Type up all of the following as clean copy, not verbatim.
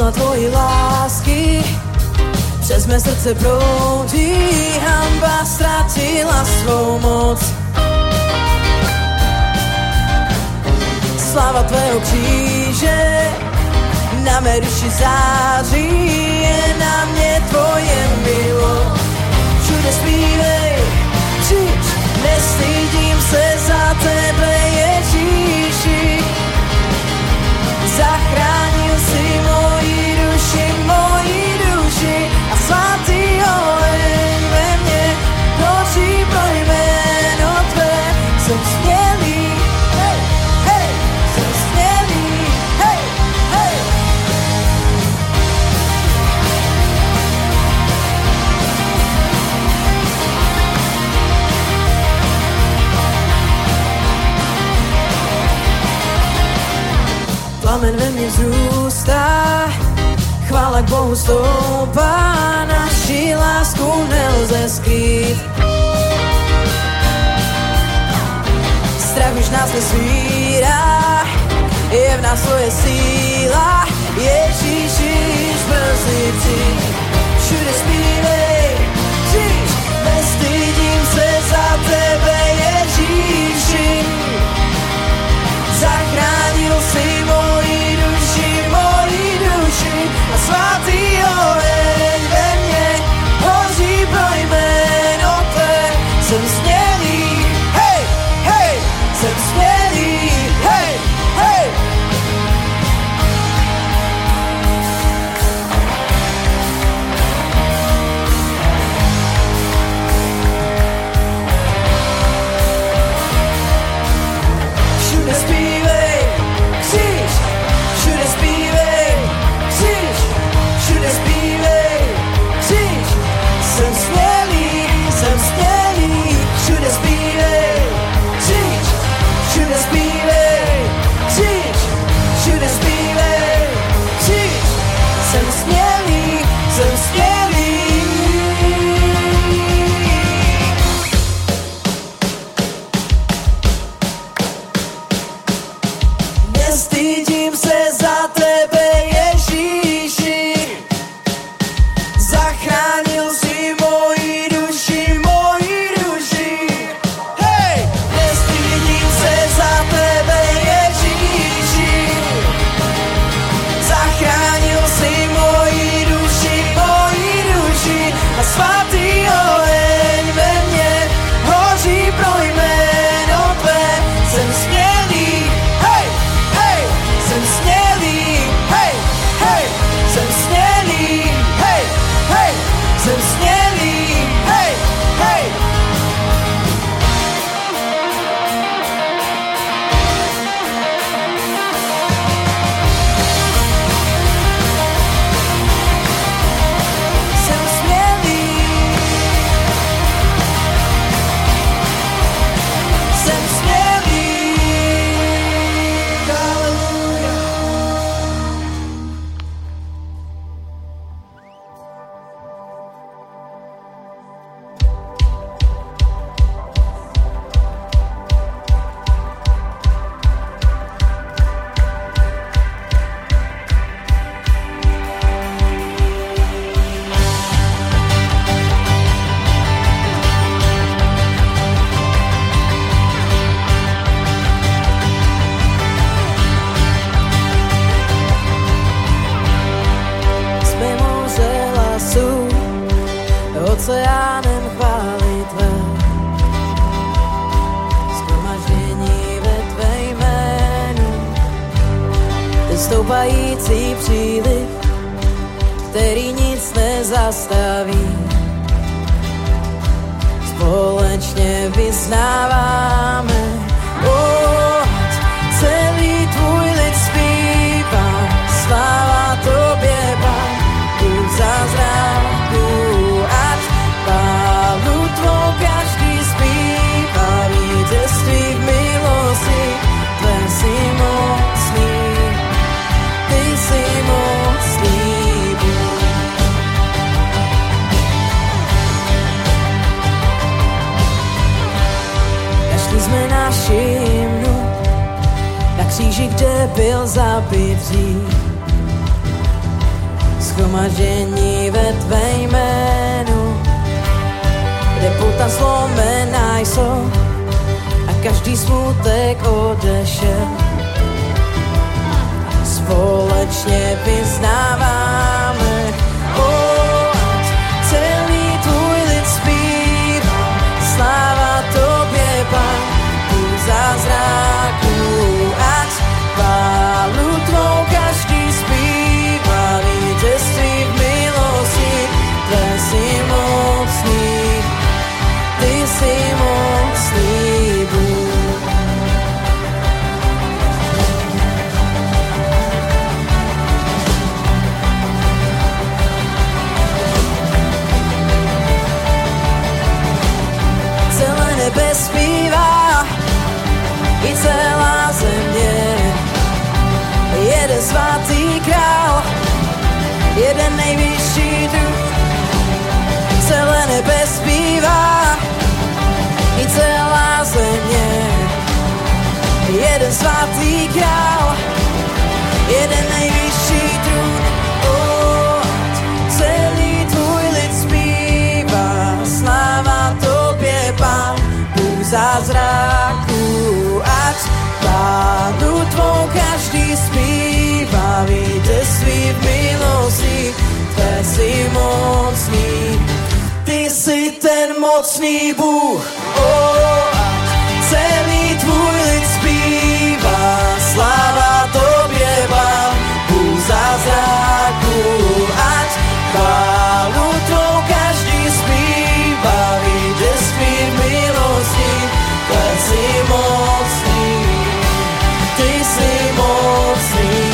sila tvojí lásky přes mé srdce proudí, hanba ztratila svou moc. Sláva tvého kříže na mé duši září, je na mě tvoje milost. Všude zpívej, křič, nestydím se za tebe, Ježíši. Zachránil si moji duši a svatý oheň ve mně hoří pro jméno tvé. Jsem smělý, hej, hej, jsem smělý, hej, hej. Plamen ve mně vzrůstá, chvála k Bohu stoupá, naši lásku nelze skrýt. Strach už nás nesvírá, je v nás tvoje síla, Ježíši, brzy přijď. Všude zpívej, křič, nestydím se za tebe, Ježíši. Zachránil si moji duši a svatý oheň ve mně hoří pro jméno tvé. Jsem smělý, hej, hej, jsem smělý, hej, hej. Všude zpívej, křič, všude zpívej, křič, všude zpívej, křič. Jsem smělý, všude zpívej, křič, všude zpívej, křič, všude zpívej, křič. Jsem smělý, jsem smělý. Nestydím se za tebe, Ježíši. Zachránil si moji duši. Hej! Nestydím se za tebe, Ježíši. Zachránil si moji duši a svatý oheň ve mně hoří pro jméno tvé. Jsem smělý, hej, hej, jsem smělý, hej, hej, jsem smělý, hej, hej, jsem smělý, hej, hej. Jsem smělý, jsem smělý. Haleluja. Jsme moře hlasů, oceánem chvály tvé. Shromaždění ve tvé jménu, ty stoupající příliv, který nic nezastaví. Společně vyznáváme, celý tvůj lid zpívá, sláva tobě, Pán, Bůh zázraků, ať chválu tvou každý zpívá, vítězství v milosti, tvé jsi mocný, ty jsi mocný, Bůh. Našli jsme naši hymnu na kříži, kde byl zabit dřív. shromaždění ve tvé jménu, kde puta zlomená jsou a každý smutek odešel. Společně vyznáváme, ať celý tvůj lid zpívá, sláva tobě, Pán, Bůh zázraků, ať chválu tvou každý zpívá, vítězství v milosti, tvé jsi mocný, ty jsi mocný Bůh. Nebe zpívá i celá země, jeden svatý král, jeden nejvyšší druh. Celé nebe zpívá i celá země, jeden svatý král, jeden nejvyšší druh. Celý tvůj lid zpívá, sláva tobě, Pán, zázraků, ať chválu tvou každý zpívá, vítězství v milosti, tvé jsi mocný, ty jsi ten mocný Bůh. Ať celý tvůj lid zpívá, sláva tobě, Pán, Bůh zázraků, ať chválu tvou každý zpívá, vítězství v milosti, ty jsi mocný, ty jsi mocný.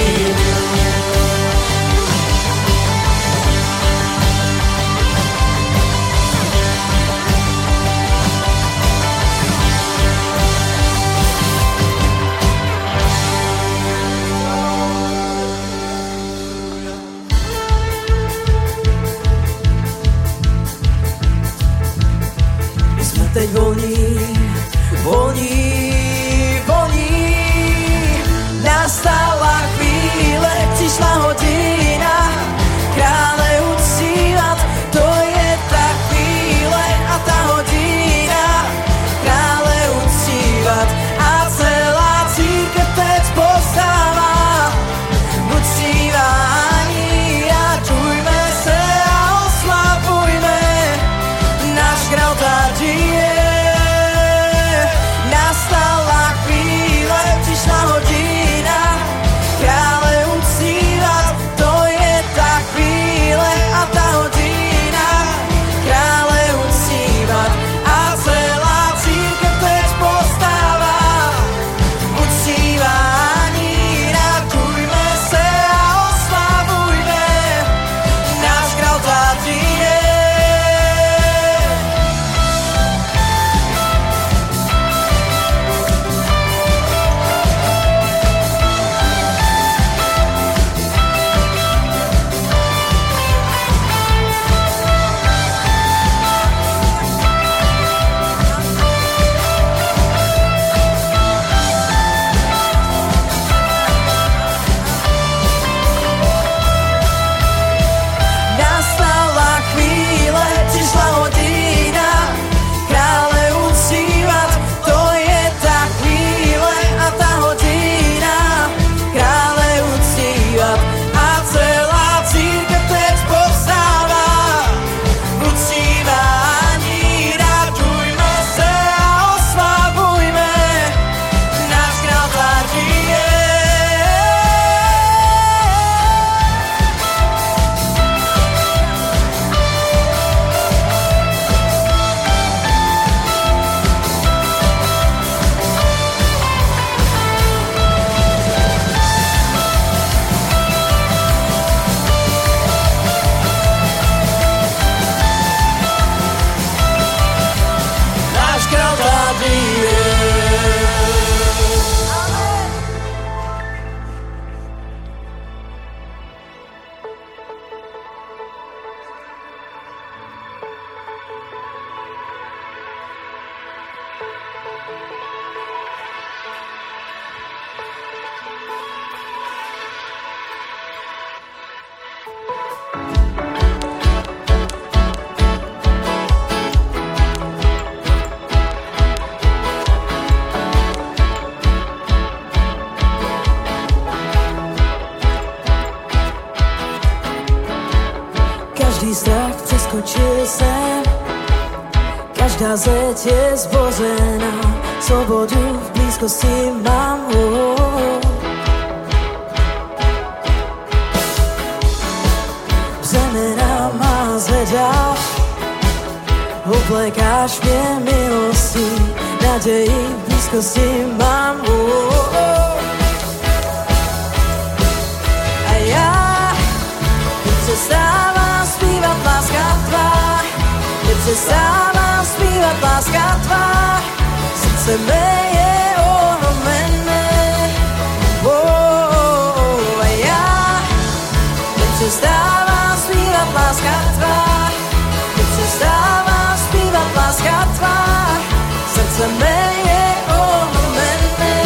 Každý strach přeskočil jsem, každá zeď je zbořená, svobodu v blízkosti mám. Břemena má zvedáš, oblékáš mě milostí, naději v blízkosti mám. A já nepřestávám zpívat láska tvá, nepřestávám zpívat láska tvá, srdce mé je ohromené. A já nepřestávám zpívat láska tvá, nepřestávám zpívat láska tvá, srdce mé je ohromené.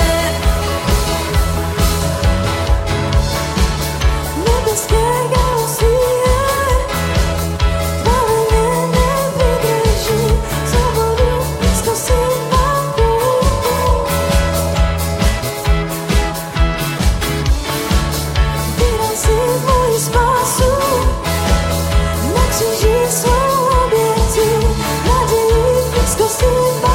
Nebeské galaxie, tvoje mě nevydrží, svobodu v blízkosti mám. Vydám si moji spásu, na kříži svou obětí, naději v blízkosti mám.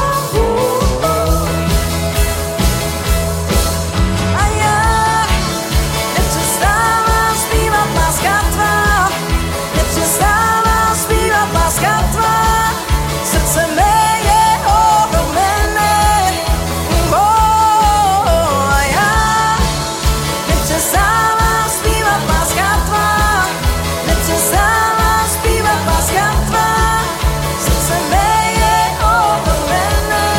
A já nepřestávám zpívat láska tvá, nepřestávám zpívat láska tvá, srdce mé je ohromené. A já nepřestávám zpívat láska tvá, nepřestávám zpívat láska tvá, srdce mé je ohromené.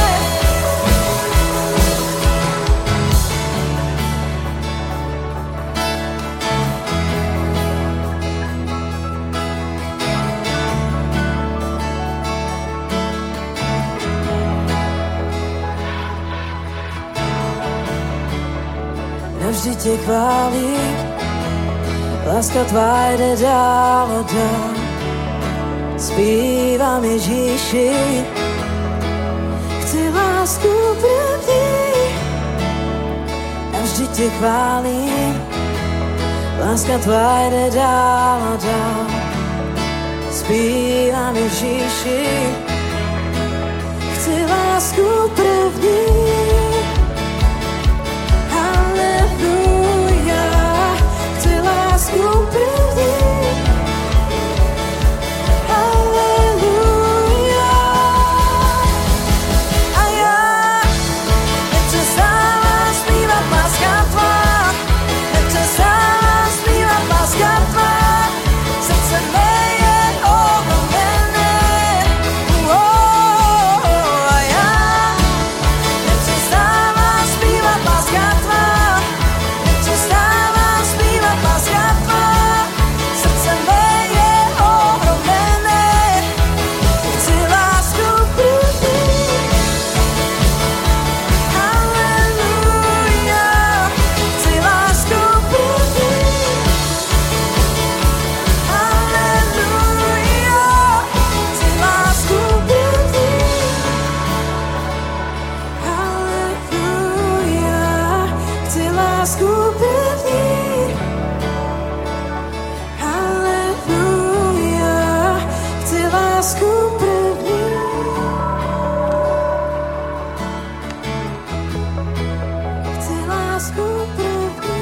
Navždy tě chválím, láska tvá jde dál a dál. Zpívám Ježíši, chci lásku první. Navždy tě chválím, láska tvá jde dál a dál. Zpívám Ježíši, chci lásku první. Haleluja, chci lásku první. Haleluja. A já nepřestávám zpívat láska tvá, nepřestávám zpívat láska tvá, srdce mé je ohromené. A já nepřestávám zpívat láska tvá, nepřestávám zpívat láska tvá, srdce mé je ohromené. Chci lásku první. Haleluja, chci lásku první. Haleluja, chci lásku první. Haleluja, chci lásku první. Haleluja, chci lásku první. Chci lásku první.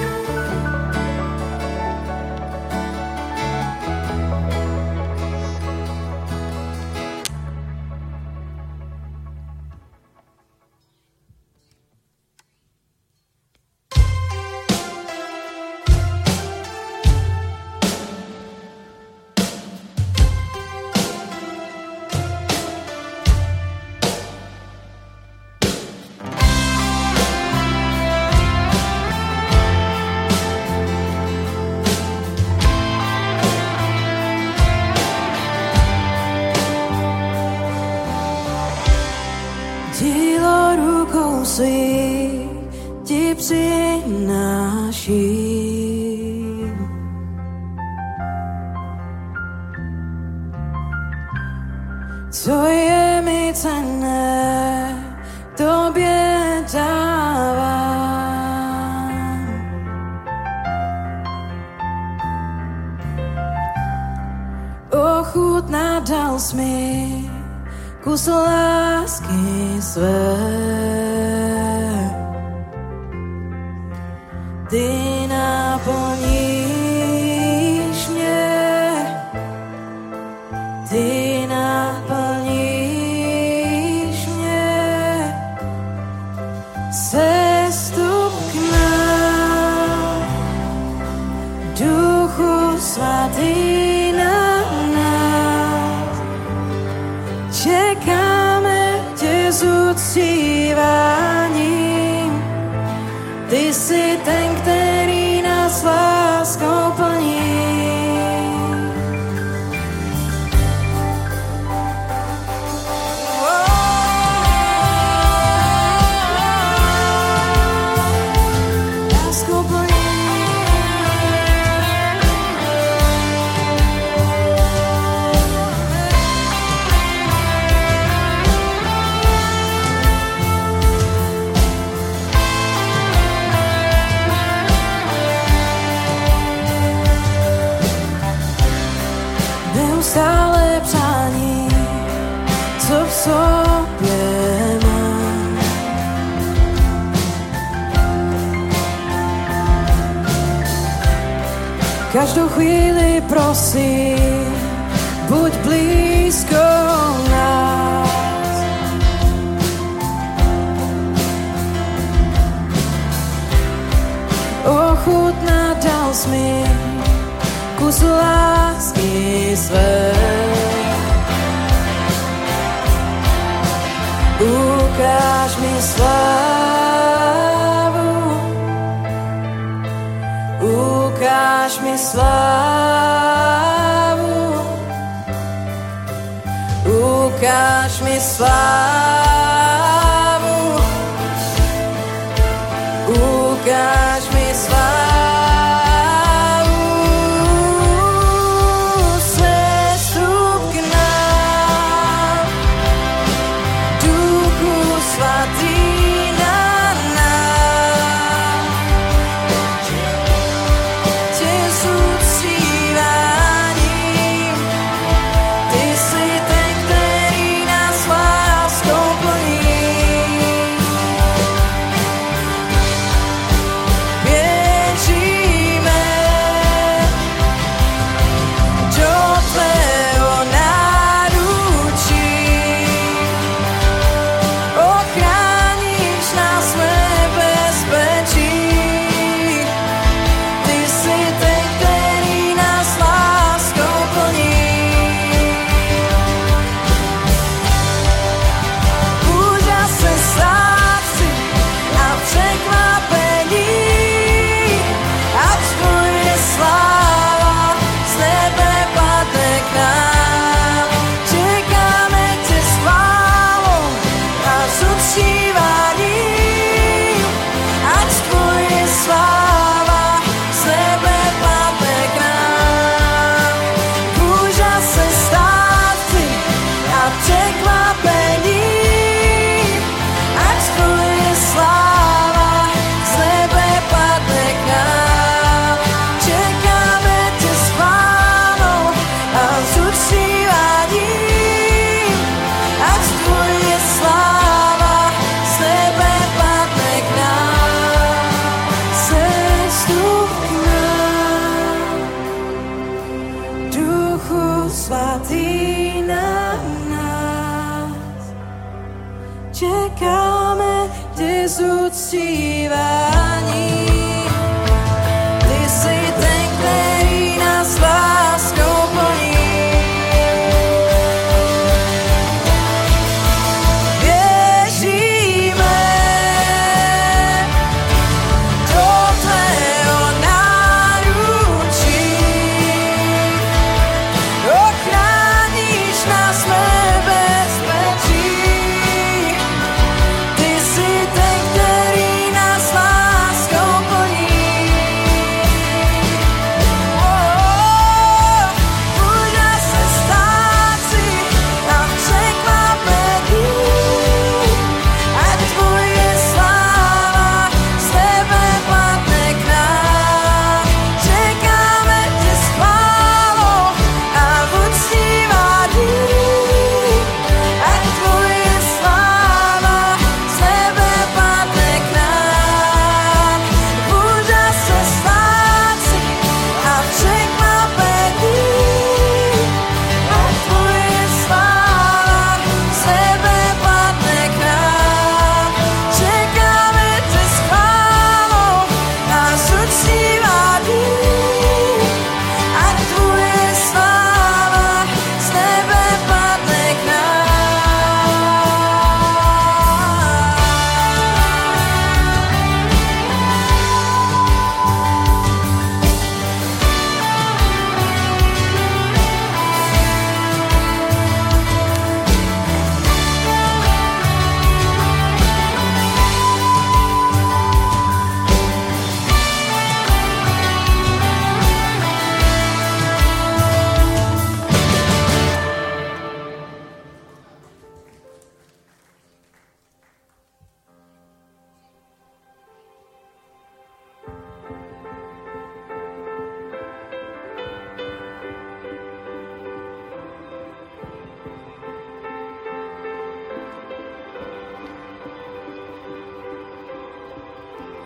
Dílo rukou svých ti přináším. Co je mi cenné, tobě dávám. ochutná dal mi kus lásky své. Ty naplníš mě, ty naplníš mě, sestup k nám, Duchu Svatý na nás, čekáme tě s uctíváním, ty jsi ten, který nás láskou plní. Láskou plní. Neustále přání, co v sobě mám. Každou chvíli prosím, buď blízko nás. Ochutná dal mi kus lásky své. Ukáž mi slávu, ukáž mi slávu, ukáž mi slávu, ukáž mi slávu. Svatý na nás, čekáme tě s uctíváním. Ty jsi ten, který nás láskou plní. Láskou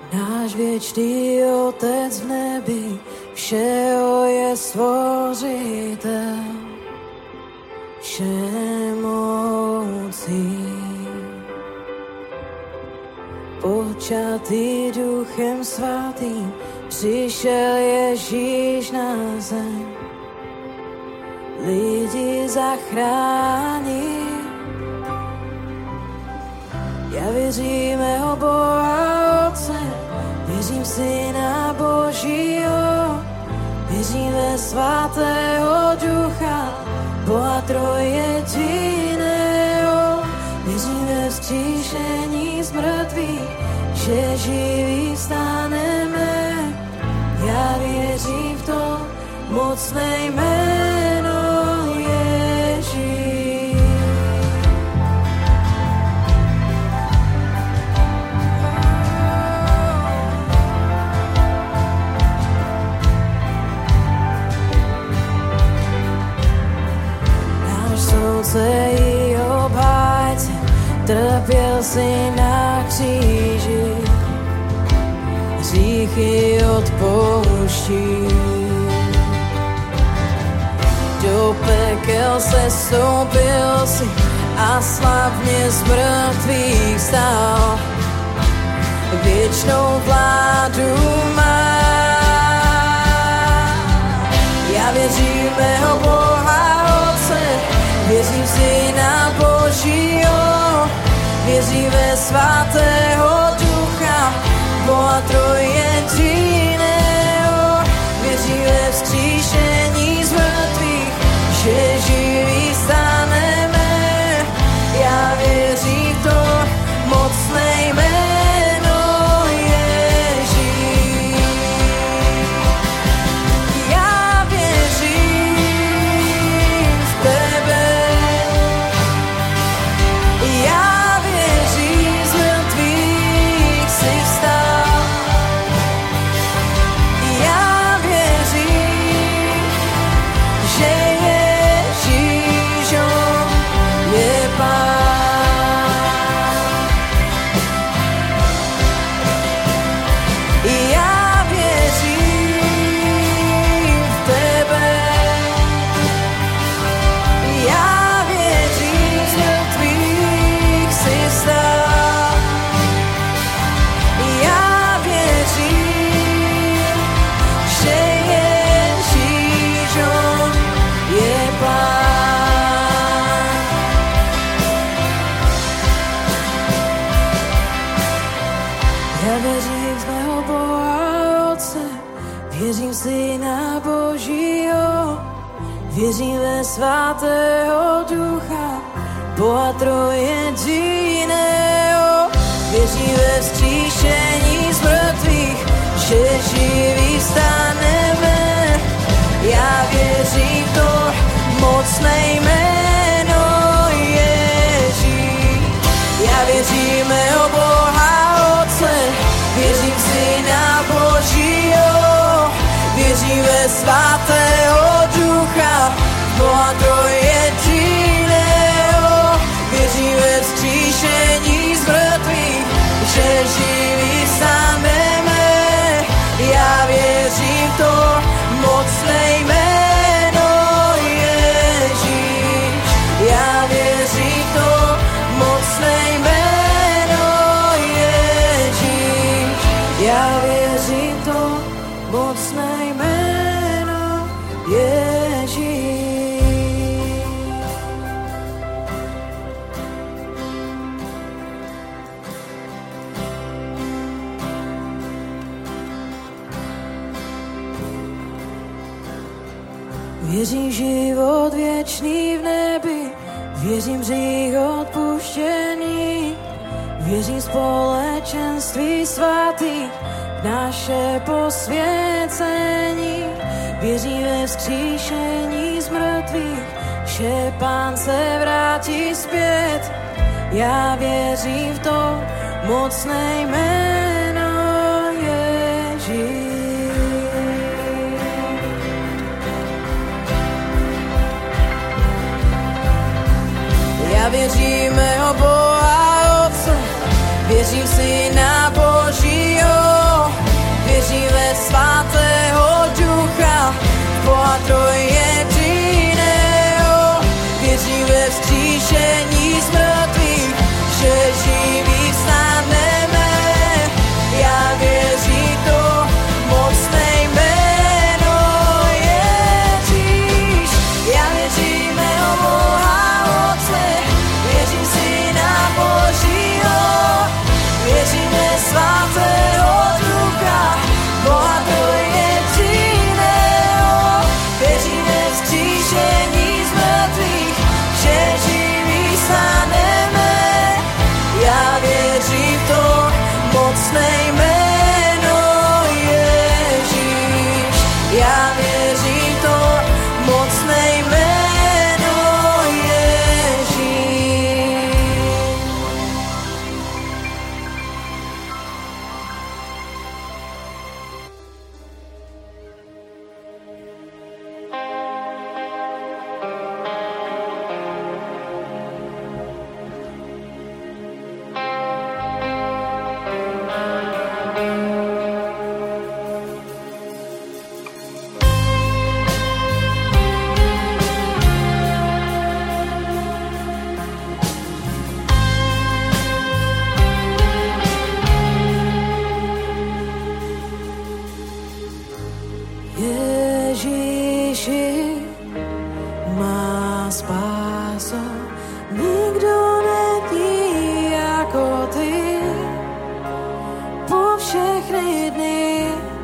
Náš věčný Otec v nebi, všeho je stvořitel, všemocí. Počatý Duchem svatým, přišel Ježíš na zem, lidi zachrání. Já věřím mého Boha Otce, věřím Syna Božího, věřím ve svatého Ducha, Boha trojjediného, věřím ve vzkříšení z mrtvých, že živí staneme. Já věřím v to mocné jméno Ježíš. I obhájce, trpěl si na kříži, hříchy odpouští. Do pekel se stoupil si a slavně z mrtvých stál. Věčnou vládu má. Já věřím mého Boha Otce, věřím Syna Božího, věřím ve svatého Ducha, Boha trojjediného, věřím ve vzkříšení z mrtvých, že živí staneme. Já věřím v to mocné jméno Ježíš. Já věřím v tebe. Já věřím, z mrtvých jsi vstal. Já věřím, že Ježíš je Pán. Já věřím v tebe. Já věřím, z mrtvých jsi vstal. Já věřím, že Ježíš je Pán. Já věřím v mého Boha Otce, věřím Syna Božího, věřím ve svatého Ducha, Boha trojjediného, věřím ve vzkříšení z mrtvých, že živí staneme. Já věřím v to mocné jméno Ježíš. Já věřím mého Boha Otce, věřím Syna Božího, věřím ve svatého Ducha, Boha trojjediného, věřím ve vzkříšení z mrtvých, že živí staneme. Já věřím v to mocné jméno Ježíš. Já věřím v to mocné jméno Ježíš. Já věřím v to mocné jméno Ježíš. Věřím život věčný v nebi, věřím hřích odpuštění, věřím společenství svatých, naše posvěcení, věřím ve vzkříšení z mrtvých, že Pán se vrátí zpět. Já věřím v to mocné jméno Ježíš. Já věřím mého Boha Otce, věřím Syna Božího, spáso, nikdo není jako ty. Po všechny dny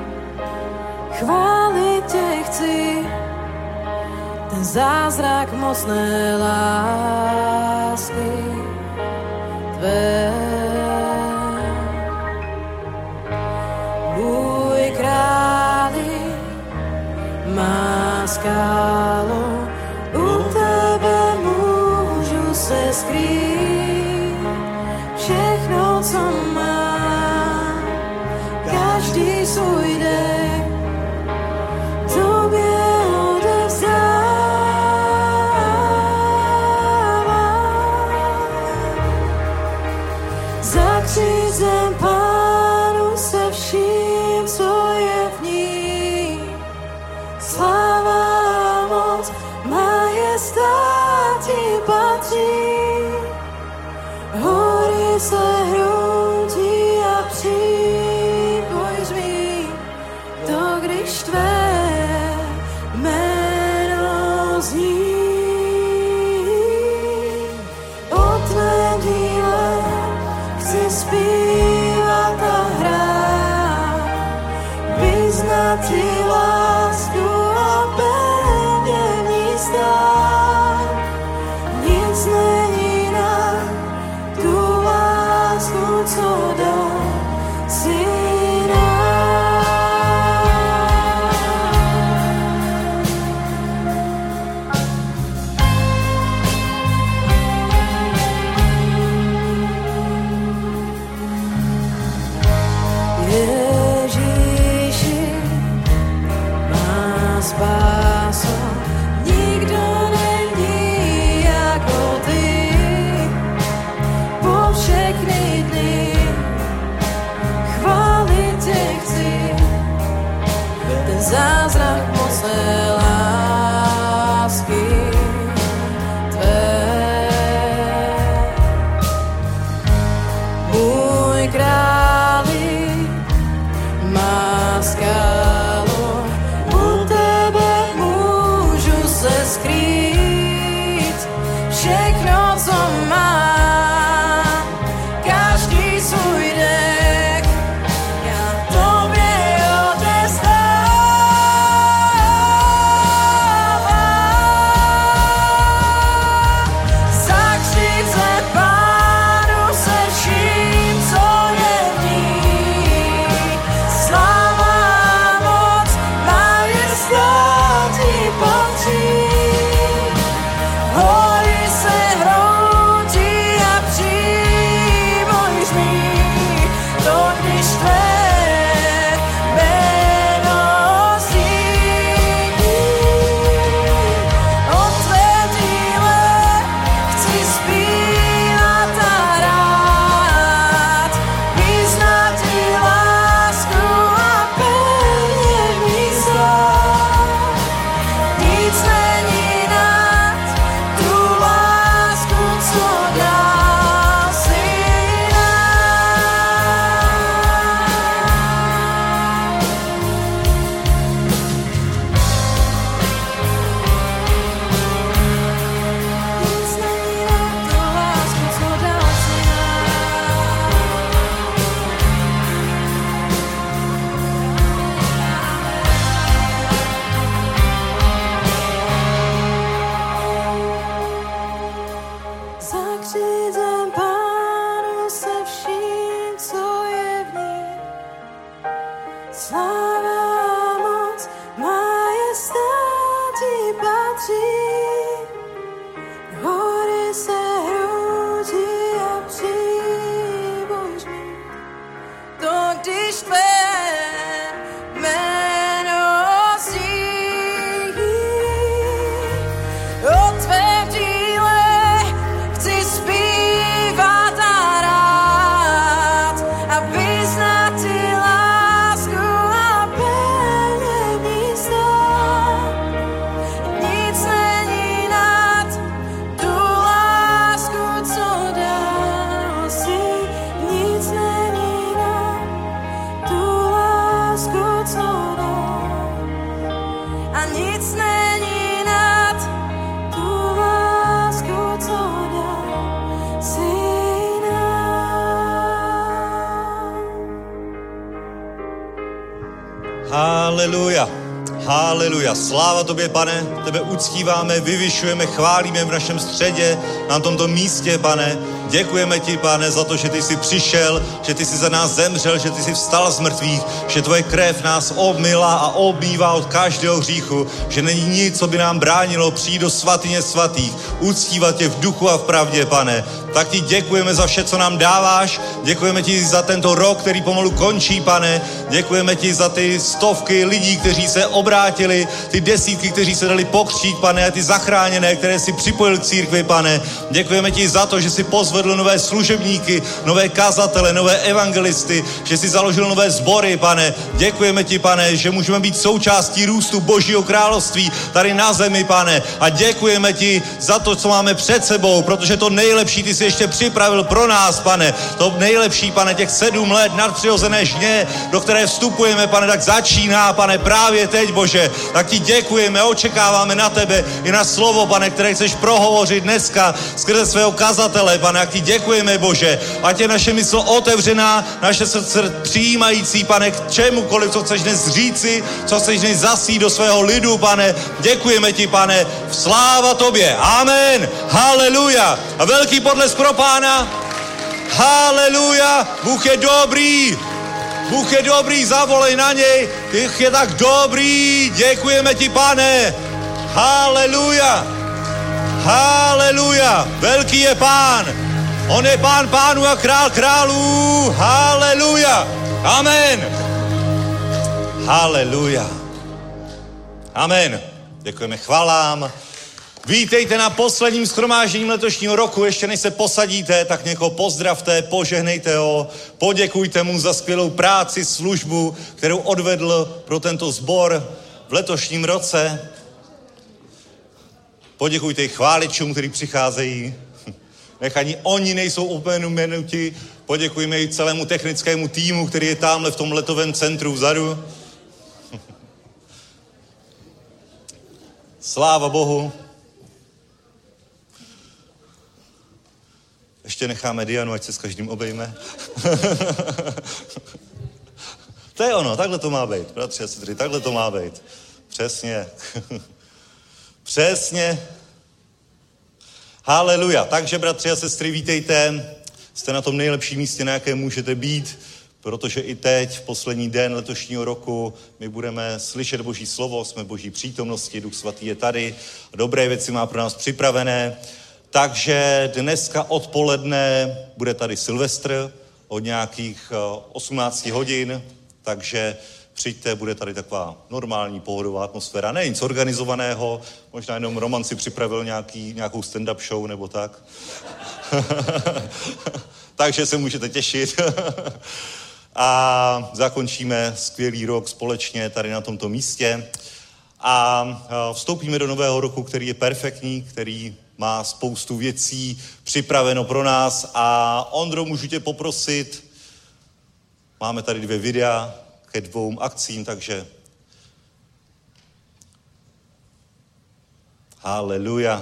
chválit tě chci, ten zázrak mocné lásky tvé. Můj králi, má skálo, u tebe můžu se skrýt. Všechno, co mám, každý svůj dech tobě odevzdávám. Zakřízem Pánu se vším, co je v ní. Sláva, moc, majestát ti patří. Hory se hroutí a příboj zmí, to když tvé jméno zní. O tvém díle chci zpívat a hrát, vyznat ti lásku a pevně v ní stát. Nic Haleluja. Haleluja. Sláva tobě, Pane, tebe uctíváme, vyvyšujeme, chválíme v našem středě, na tomto místě, Pane. Děkujeme ti, Pane, za to, že ty jsi přišel, že ty jsi za nás zemřel, že ty jsi vstal z mrtvých, že tvoje krev nás obmyla a obmývá od každého hříchu, že není nic, co by nám bránilo přijít do svatyně svatých, uctívat tě v duchu a v pravdě, Pane. Tak ti děkujeme za vše, co nám dáváš, děkujeme ti za tento rok, který pomalu končí, Pane. Děkujeme ti za ty stovky lidí, kteří se obrátili, ty desítky, kteří se dali pokřtít, Pane, a ty zachráněné, které si připojil k církvi, Pane. Děkujeme ti za to, že si pozvedl nové služebníky, nové kazatele, nové evangelisty, že si založil nové sbory, Pane. Děkujeme ti, Pane, že můžeme být součástí růstu Božího království tady na zemi, Pane. A děkujeme ti za to, co máme před sebou, protože to nejlepší ty si ještě připravil pro nás, Pane. To nejlepší, Pane, těch 7 let nadpřirozené žně, do které vstupujeme, Pane, tak začíná, Pane, právě teď, Bože. Tak ti děkujeme, očekáváme na tebe i na slovo, Pane, které chceš prohovořit dneska skrze svého kazatele, Pane. A ti děkujeme, Bože. Ať je naše mysl otevřená, naše srdce přijímající, Pane, k čemukoliv, co chceš dnes říci, co chceš dnes zasít do svého lidu, Pane. Děkujeme ti, Pane. Sláva tobě. Amen. Haleluja. A velký potlesk pro Pána. Haleluja. Bůh je dobrý. Bůh je dobrý, zavolej na něj. Ty je tak dobrý. Děkujeme ti, Pane. Haleluja. Haleluja. Velký je Pán. On je Pán pánů a král králů. Haleluja. Amen. Haleluja. Amen. Děkujeme, chvalám. Vítejte na posledním shromáždění letošního roku. Ještě než se posadíte, tak někoho pozdravte, požehnejte ho, poděkujte mu za skvělou práci, službu, kterou odvedl pro tento sbor v letošním roce. Poděkujte i chváličům, kteří přicházejí. Nech ani oni nejsou opomenuti. Poděkujme i celému technickému týmu, který je tamhle v tom letovém centru vzadu. Sláva Bohu. Ještě necháme Dianu, ať se s každým obejme. To je ono, takhle to má být, bratři a sestry, takhle to má být. Přesně. Přesně. Haleluja. Takže, bratři a sestry, vítejte. Jste na tom nejlepším místě, na jakém můžete být, protože i teď, v poslední den letošního roku, my budeme slyšet Boží slovo, jsme v Boží přítomnosti, Duch Svatý je tady, dobré věci má pro nás připravené. Takže dneska odpoledne bude tady Silvestr od nějakých 18 hodin, takže přijďte, bude tady taková normální pohodová atmosféra, ne nic organizovaného, možná jenom Roman si připravil nějakou stand-up show nebo tak. Takže se můžete těšit. A zakončíme skvělý rok společně tady na tomto místě. A vstoupíme do nového roku, který je perfektní, který má spoustu věcí připraveno pro nás. A Ondro, můžu tě poprosit, máme tady 2 videa ke 2 akcím, takže haleluja.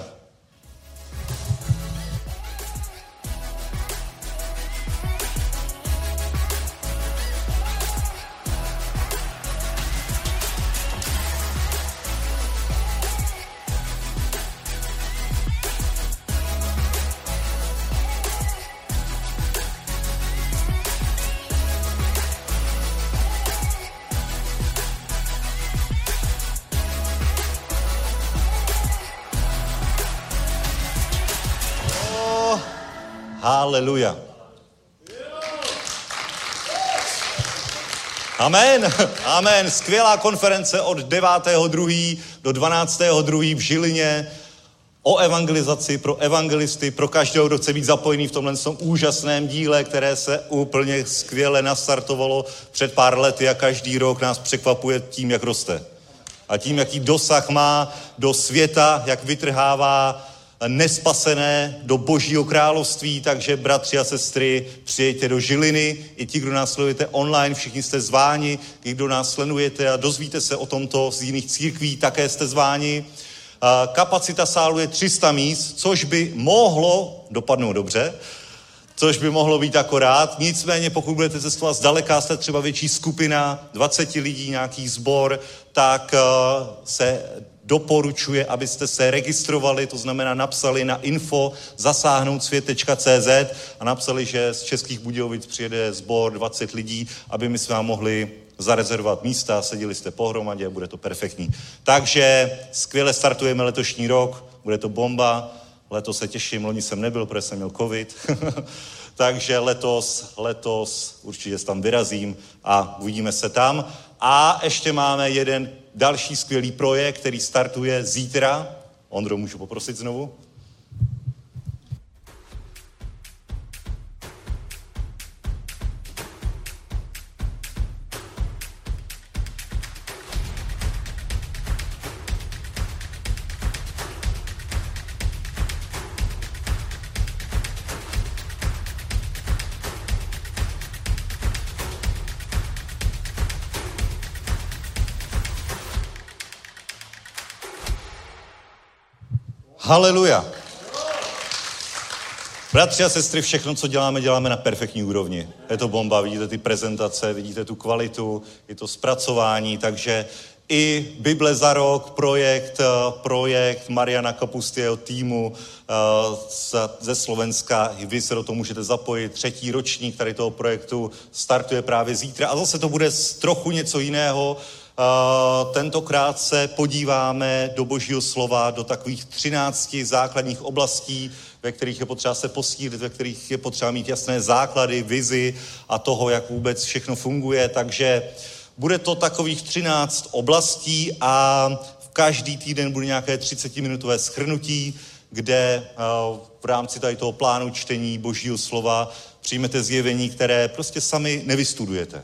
Haleluja. Amen. Amen. Skvělá konference od 9.2. do 12.2. v Žilině o evangelizaci pro evangelisty, pro každého, kdo chce být zapojený v tomhle úžasném díle, které se úplně skvěle nastartovalo před pár lety a každý rok nás překvapuje tím, jak roste. A tím, jaký dosah má do světa, jak vytrhává nespasené do Božího království, takže bratři a sestry, přijďte do Žiliny, i ti, kdo nás sledujete online, všichni jste zváni, i kdo nás sledujete a dozvíte se o tomto z jiných církví, také jste zváni. Kapacita sálu je 300 míst, což by mohlo dopadnout dobře, což by mohlo být akorát. Nicméně, pokud budete cestovat zdaleka, jste třeba větší skupina, 20 lidí, nějaký sbor, tak se doporučuje, abyste se registrovali, to znamená napsali na info@zasáhnoutsvět.cz a napsali, že z Českých Budějovic přijede sbor 20 lidí, aby my s vám mohli zarezervovat místa, seděli jste pohromadě, bude to perfektní. Takže skvěle startujeme letošní rok, bude to bomba, letos se těším, loni jsem nebyl, protože jsem měl covid, takže letos určitě tam vyrazím a uvidíme se tam. A ještě máme jeden další skvělý projekt, který startuje zítra. Ondro, můžu poprosit znovu? Haleluja. Bratři a sestry, všechno, co děláme, děláme na perfektní úrovni. Je to bomba, vidíte ty prezentace, vidíte tu kvalitu, je to zpracování, takže i Bible za rok, projekt Mariana Kapusty, jeho týmu ze Slovenska, vy se do toho můžete zapojit, 3. ročník tady toho projektu startuje právě zítra a zase to bude trochu něco jiného. Tentokrát se podíváme do Božího slova, do takových 13 základních oblastí, ve kterých je potřeba se posílit, ve kterých je potřeba mít jasné základy, vizi a toho, jak vůbec všechno funguje. Takže bude to takových 13 oblastí a v každý týden bude nějaké 30-minutové shrnutí, kde v rámci tady toho plánu čtení Božího slova přijmete zjevení, které prostě sami nevystudujete.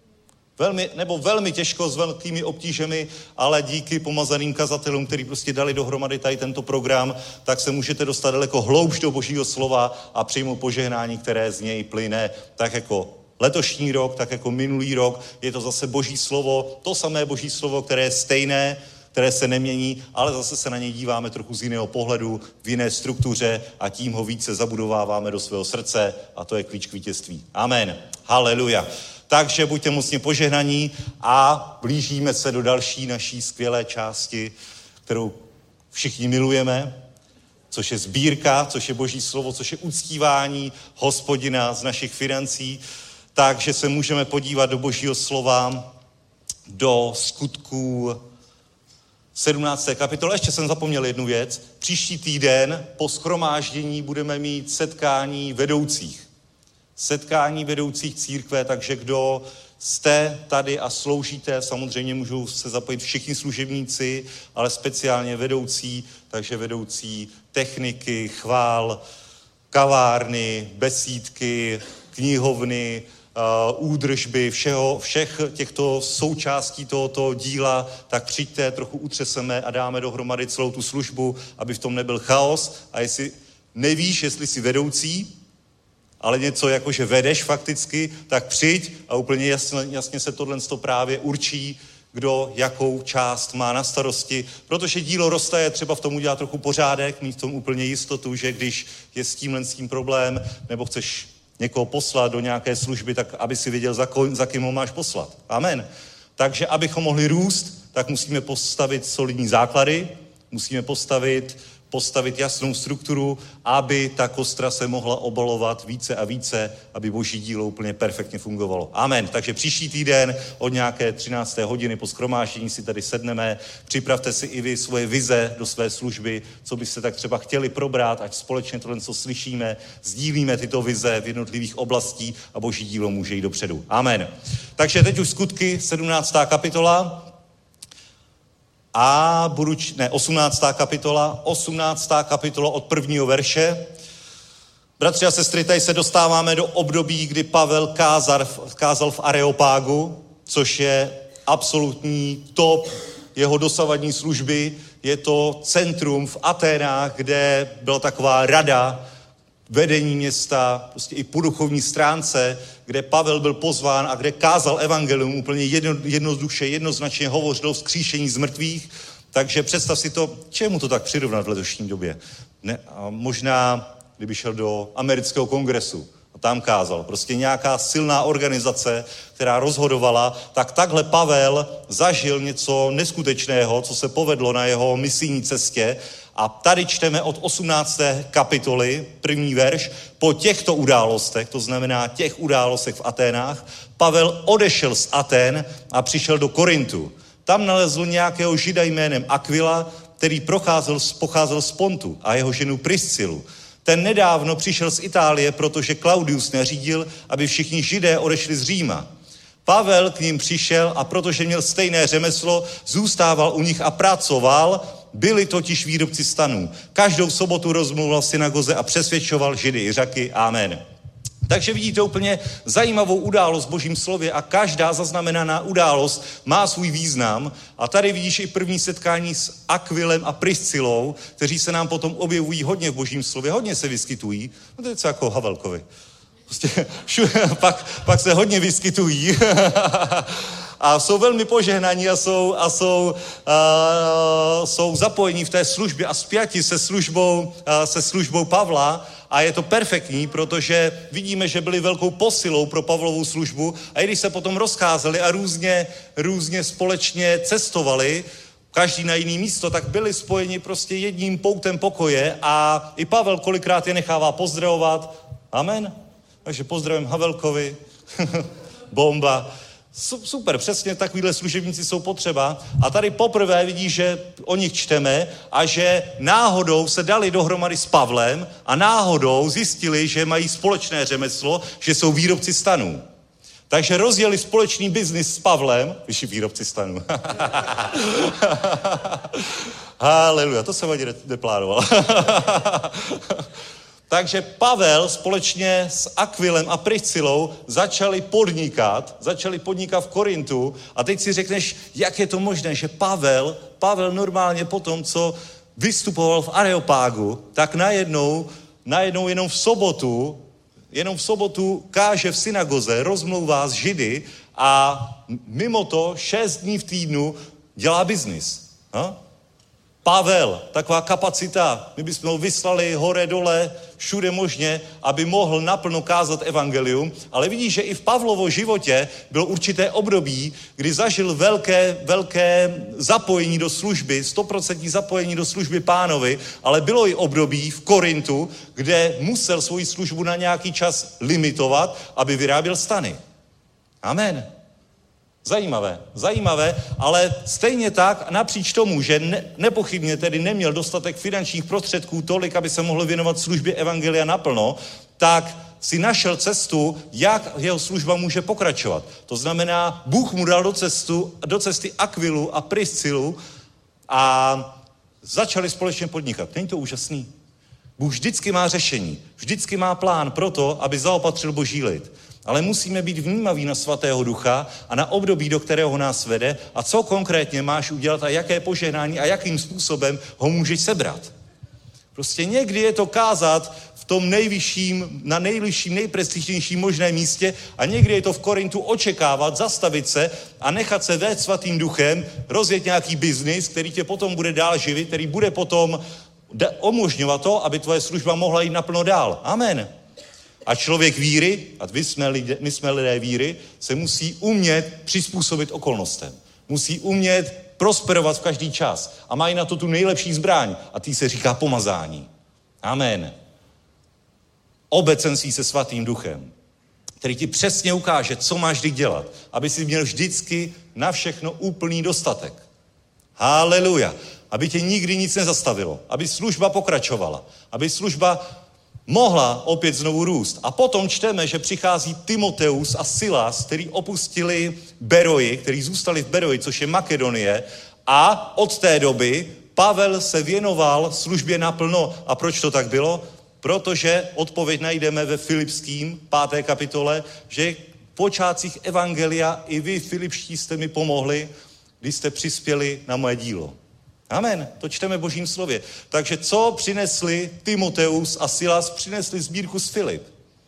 Velmi těžko, s velkými obtížemi, ale díky pomazaným kazatelům, kteří prostě dali dohromady tady tento program, tak se můžete dostat daleko hloubš do Božího slova a přijmout požehnání, které z něj plyne, tak jako letošní rok, tak jako minulý rok. Je to zase Boží slovo, to samé Boží slovo, které je stejné, které se nemění, ale zase se na něj díváme trochu z jiného pohledu, v jiné struktuře a tím ho více zabudováváme do svého srdce a to je klíč k vítězství. Amen. Haleluja. Takže buďte mocně požehnaní a blížíme se do další naší skvělé části, kterou všichni milujeme, což je sbírka, což je Boží slovo, což je uctívání Hospodina z našich financí. Takže se můžeme podívat do Božího slova, do Skutků 17. kapitoly. Ještě jsem zapomněl jednu věc. Příští týden po shromáždění budeme mít setkání vedoucích. Setkání vedoucích církve, takže kdo jste tady a sloužíte, samozřejmě můžou se zapojit všichni služebníci, ale speciálně vedoucí, takže vedoucí techniky, chvál, kavárny, besídky, knihovny, údržby, všech těchto součástí tohoto díla, tak přijďte, trochu utřeseme a dáme dohromady celou tu službu, aby v tom nebyl chaos. A jestli nevíš, jestli jsi vedoucí, ale něco jako, že vedeš fakticky, tak přijď a úplně jasně se tohle právě určí, kdo jakou část má na starosti, protože dílo roste, je třeba v tom udělat trochu pořádek, mít v tom úplně jistotu, že když je s tím problém, nebo chceš někoho poslat do nějaké služby, tak aby si věděl, za kým ho máš poslat. Amen. Takže abychom mohli růst, tak musíme postavit solidní základy, musíme postavit jasnou strukturu, aby ta kostra se mohla obalovat více a více, aby Boží dílo úplně perfektně fungovalo. Amen. Takže příští týden od nějaké 13. hodiny po shromáždění si tady sedneme. Připravte si i vy svoje vize do své služby, co byste tak třeba chtěli probrat, ať společně tohle, co slyšíme, sdílíme tyto vize v jednotlivých oblastí a Boží dílo může jít dopředu. Amen. Takže teď už Skutky, 17. kapitola. 18. kapitola od 1. verše. Bratři a sestry, tady se dostáváme do období, kdy Pavel kázal v Areopágu, což je absolutní top jeho dosavadní služby. Je to centrum v Aténách, kde byla taková rada, vedení města, prostě i po duchovní stránce, kde Pavel byl pozván a kde kázal evangelium úplně jednoduše, jednoznačně hovořil o vzkříšení z mrtvých. Takže představ si to, čemu to tak přirovnat v letošní době. Ne, a možná, kdyby šel do amerického kongresu A tam kázal. Prostě nějaká silná organizace, která rozhodovala, tak takhle Pavel zažil něco neskutečného, co se povedlo na jeho misijní cestě. A tady čteme od 18. kapitoly, 1. verš, po těchto událostech, to znamená těch událostech v Aténách, Pavel odešel z Aten a přišel do Korintu. Tam nalezl nějakého žida jménem Aquila, který pocházel z Pontu, a jeho ženu Priscilu. Ten nedávno přišel z Itálie, protože Claudius nařídil, aby všichni židé odešli z Říma. Pavel k ním přišel a protože měl stejné řemeslo, zůstával u nich a pracoval, byli totiž výrobci stanů. Každou sobotu rozmluval v synagoze a přesvědčoval Židy i Řeky. Amen. Takže vidíte úplně zajímavou událost v Božím slově a každá zaznamenaná událost má svůj význam. A tady vidíš i první setkání s Aquilem a Priscilou, kteří se nám potom objevují hodně v Božím slově, hodně se vyskytují. No to je co jako Havelkovi. Prostě pak se hodně vyskytují a jsou velmi požehnaní a jsou zapojení v té službě a spjati se službou Pavla. A je to perfektní, protože vidíme, že byli velkou posilou pro Pavlovu službu a i když se potom rozcházeli a různě společně cestovali, každý na jiný místo, tak byli spojeni prostě jedním poutem pokoje a i Pavel kolikrát je nechává pozdravovat. Amen. Takže pozdravím Havelkovi. Bomba. Super, přesně takovýhle služebníci jsou potřeba. A tady poprvé vidíš, že o nich čteme a že náhodou se dali dohromady s Pavlem a náhodou zjistili, že mají společné řemeslo, že jsou výrobci stanů. Takže rozjeli společný biznis s Pavlem, vyšší výrobci stanů. Haleluja, to jsem ani neplánoval. Takže Pavel společně s Aquilem a Priscilou začali podnikat v Korintu a teď si řekneš, jak je to možné, že Pavel normálně po tom, co vystupoval v Areopágu, tak najednou jenom v sobotu káže v synagoze, rozmlouvá s Židy a mimo to 6 dní v týdnu dělá biznis. Pavel, taková kapacita, my bychom ho vyslali hore, dole, všude možně, aby mohl naplno kázat evangelium, ale vidíš, že i v Pavlovo životě bylo určité období, kdy zažil velké zapojení do služby, 100% zapojení do služby Pánovi, ale bylo i období v Korintu, kde musel svoji službu na nějaký čas limitovat, aby vyráběl stany. Amen. Zajímavé, ale stejně tak napříč tomu, že nepochybně tedy neměl dostatek finančních prostředků tolik, aby se mohl věnovat službě evangelia naplno, tak si našel cestu, jak jeho služba může pokračovat. To znamená, Bůh mu dal do cesty Aquilu a Priscilu a začali společně podnikat. Není to úžasný? Bůh vždycky má řešení, vždycky má plán pro to, aby zaopatřil Boží lid. Ale musíme být vnímaví na Svatého Ducha a na období, do kterého nás vede a co konkrétně máš udělat a jaké požehnání a jakým způsobem ho můžeš sebrat. Prostě někdy je to kázat v tom nejvyšším, na nejvyšším, nejprestižnějším možném místě a někdy je to v Korintu očekávat, zastavit se a nechat se vést Svatým Duchem, rozjet nějaký biznis, který tě potom bude dál živit, který bude potom umožňovat to, aby tvoje služba mohla jít naplno dál. Amen. A člověk víry, a my jsme lidé víry, se musí umět přizpůsobit okolnostem. Musí umět prosperovat v každý čas. A mají na to tu nejlepší zbraň. A tý se říká pomazání. Amen. Obecenství se Svatým Duchem, který ti přesně ukáže, co máš kdy dělat, aby si měl vždycky na všechno úplný dostatek. Haleluja. Aby tě nikdy nic nezastavilo. Aby služba pokračovala. Aby služba mohla opět znovu růst. A potom čteme, že přichází Timoteus a Silas, který opustili Beroji, který zůstali v Beroji, což je Makedonie. A od té doby Pavel se věnoval službě naplno. A proč to tak bylo? Protože odpověď najdeme ve Filipským 5. kapitole, že v počátcích evangelia i vy, Filipští, jste mi pomohli, když jste přispěli na moje dílo. Amen, to čteme v Božím slově. Takže co přinesli Timoteus a Silas? Přinesli sbírku z Filip.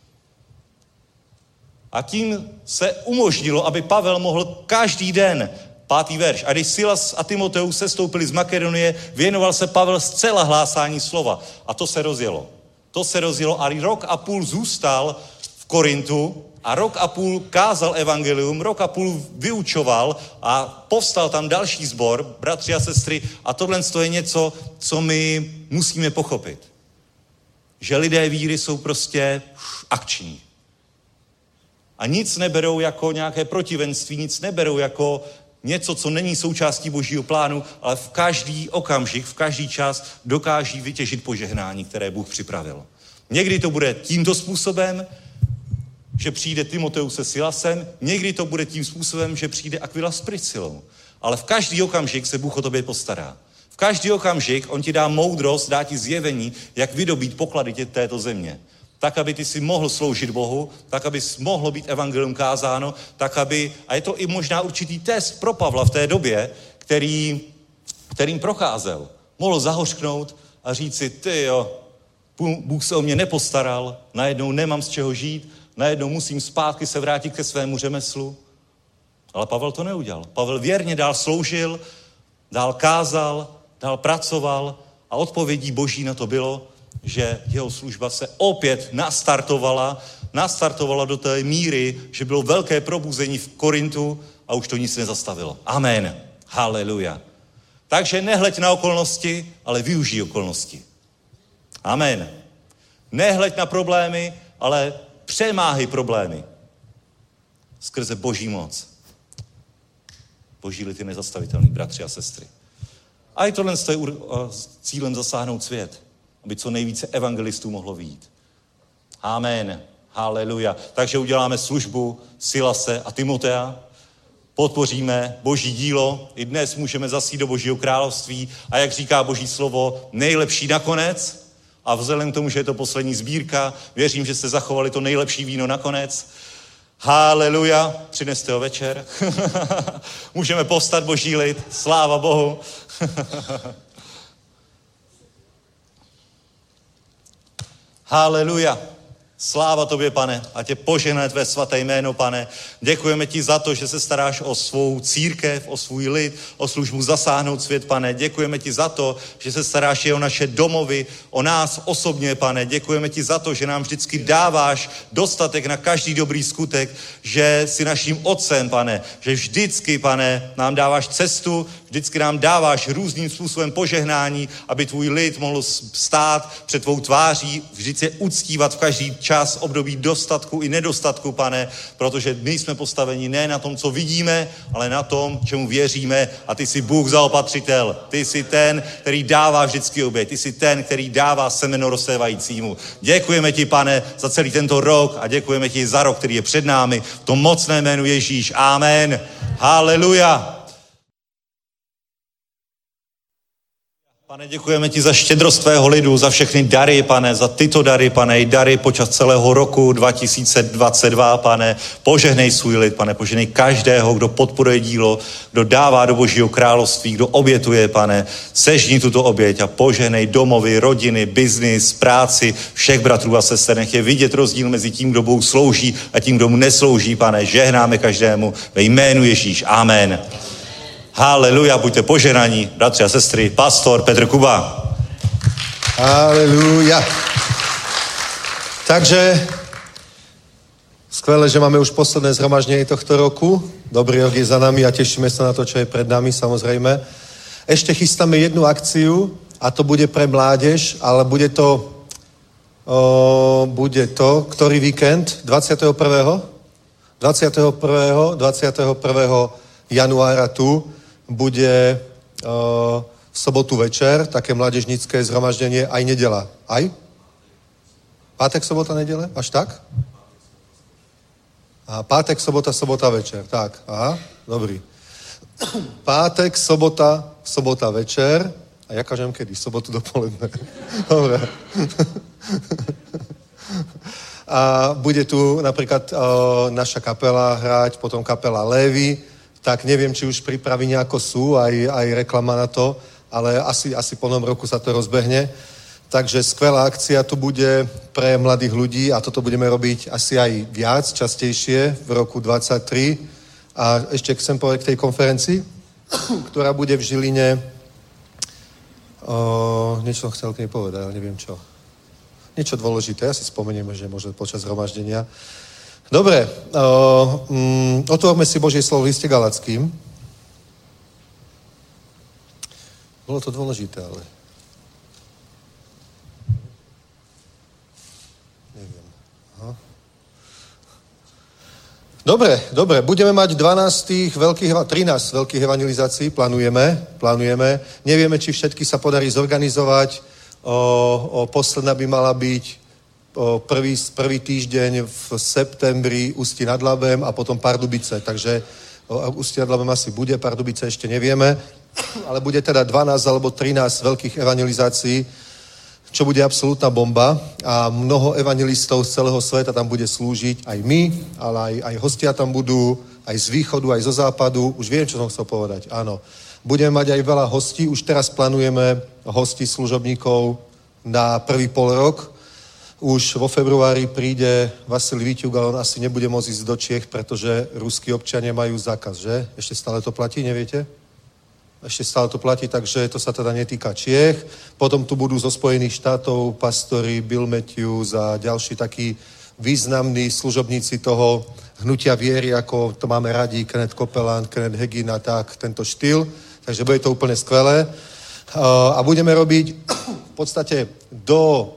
A tím se umožnilo, aby Pavel mohl každý den, 5. verš, a když Silas a Timoteus sestoupili z Makedonie, věnoval se Pavel zcela hlásání slova. A to se rozjelo. A 1,5 roku zůstal v Korintu a rok a půl kázal evangelium, rok a půl vyučoval a povstal tam další sbor, bratři a sestry, a tohle je něco, co my musíme pochopit. Že lidé víry jsou prostě akční. A nic neberou jako nějaké protivenství, nic neberou jako něco, co není součástí Božího plánu, ale v každý okamžik, v každý čas dokáží vytěžit požehnání, které Bůh připravil. Někdy to bude tímto způsobem, že přijde Timoteus se Silasem, někdy to bude tím způsobem, že přijde Aquila s Priscilou. Ale v každý okamžik se Bůh o tobě postará. V každý okamžik on ti dá moudrost, dá ti zjevení, jak vydobít poklady této země. Tak, aby ty si mohl sloužit Bohu, tak, aby mohlo být evangelium kázáno, tak, aby, a je to i možná určitý test pro Pavla v té době, kterým procházel. Mohl zahořknout a říct si, Bůh se o mě nepostaral, najednou nemám z čeho žít, najednou musím zpátky se vrátit ke svému řemeslu. Ale Pavel to neudělal. Pavel věrně dál sloužil, dál kázal, dál pracoval a odpovědí Boží na to bylo, že jeho služba se opět nastartovala do té míry, že bylo velké probuzení v Korintu a už to nic nezastavilo. Amen. Haleluja. Takže nehleď na okolnosti, ale využij okolnosti. Amen. Nehleď na problémy, ale přemáhej problémy. Skrze Boží moc. Boží lid je nezastavitelný, bratři a sestry. A i tohle je cílem zasáhnout svět, aby co nejvíce evangelistů mohlo vyjít. Amen. Haleluja. Takže uděláme službu Silase a Timotea, podpoříme Boží dílo, i dnes můžeme zasít do Božího království a jak říká Boží slovo, nejlepší nakonec. A vzhledem k tomu, že je to poslední sbírka, věřím, že jste zachovali to nejlepší víno nakonec. Haleluja, přineste ho večer. Můžeme povstat, Boží lid, sláva Bohu. Haleluja. Sláva tobě, Pane, a tě požehnaje tvé svaté jméno, Pane. Děkujeme ti za to, že se staráš o svou církev, o svůj lid, o službu zasáhnout svět, Pane. Děkujeme ti za to, že se staráš i o naše domovy, o nás osobně, Pane. Děkujeme ti za to, že nám vždycky dáváš dostatek na každý dobrý skutek, že jsi naším otcem, Pane, že vždycky, Pane, nám dáváš cestu, vždycky nám dáváš různým způsobem požehnání, aby tvůj lid mohl stát před tvou tváří, vždycky je uctívat v každý čas, období dostatku i nedostatku, Pane, protože my jsme postaveni ne na tom, co vidíme, ale na tom, čemu věříme a ty jsi Bůh zaopatřitel. Ty jsi ten, který dává vždycky oběť. Ty jsi ten, který dává semeno rozsévajícímu. Děkujeme ti, Pane, za celý tento rok a děkujeme ti za rok, který je před námi. V tom mocné jménu Ježíš. Amen. Haleluja. Pane, děkujeme ti za štědrost tvého lidu, za všechny dary, Pane, za tyto dary, Pane, i dary počas celého roku 2022, Pane. Požehnej svůj lid, Pane, požehnej každého, kdo podporuje dílo, kdo dává do Božího království, kdo obětuje, Pane. Sežni tuto oběť a požehnej domovy, rodiny, biznis, práci, všech bratrů a sester. Nech je vidět rozdíl mezi tím, kdo Bohu slouží a tím, kdo mu neslouží, Pane. Žehnáme každému ve jménu Ježíš. Amen. Haleluja, buďte požehnaní, bratři a sestry, pastor Petr Kuba. Haleluja. Takže skvelé, že máme už posledné zhromaždenie tohto roku. Dobrý rok je za nami a tešíme sa na to, čo je pred nami, samozrejme. Ešte chystáme jednu akciu a to bude pre mládež, ale bude to ktorý víkend? 21. januára tu bude v sobotu večer také mládežnícke zhromaždenie, aj nedela. Aj? Pátek, sobota, nedele? Až tak? Aha, pátek, sobota večer. Tak, aha, dobrý. Pátek, sobota večer. A ja kažem kedy? Sobotu dopoledne. Dobre. A bude tu napríklad naša kapela hrať, potom kapela Lévy, tak neviem, či už prípravy nejako sú, aj reklama na to, ale asi po novom roku sa to rozbehne. Takže skvelá akcia tu bude pre mladých ľudí a toto budeme robiť asi aj viac, častejšie v roku 2023. A ešte chcem povedať k tej konferencii, ktorá bude v Žiline. Niečo som chcel k nej povedať, ale neviem čo. Niečo dôležité, ja si spomenieme, že možno počas zhromaždenia. Dobre, otvorme si Božie slovo v liste Galackým. Bolo to dôležité, ale... Neviem. Aha. Dobre, budeme mať 13 veľkých evangelizácií, plánujeme. Nevieme, či všetky sa podarí zorganizovať. Posledná by mala byť prvý týždeň v septembri Ústí nad Labem a potom Pardubice. Takže Ústí nad Labem asi bude, Pardubice ešte nevieme. Ale bude teda 12 alebo 13 veľkých evangelizácií, čo bude absolútna bomba a mnoho evangelistov z celého sveta tam bude slúžiť, aj my, ale aj hostia tam budú, aj z východu, aj zo západu. Už viem, čo som chcel povedať, áno. Budeme mať aj veľa hostí, už teraz plánujeme hostí služobníkov na prvý polrok. Už vo februári príde Vasilij Víťuk, ale on asi nebude môcť ísť do Čiech, pretože ruskí občania majú zákaz, že? Ešte stále to platí, neviete? Ešte stále to platí, takže to sa teda netýka Čiech. Potom tu budú zo Spojených štátov pastori Bill Matthews a ďalší takí významní služobníci toho hnutia viery, ako to máme radi, Kenneth Copeland, Kenneth Hagin a tak, tento štýl. Takže bude to úplne skvelé. A budeme robiť v podstate do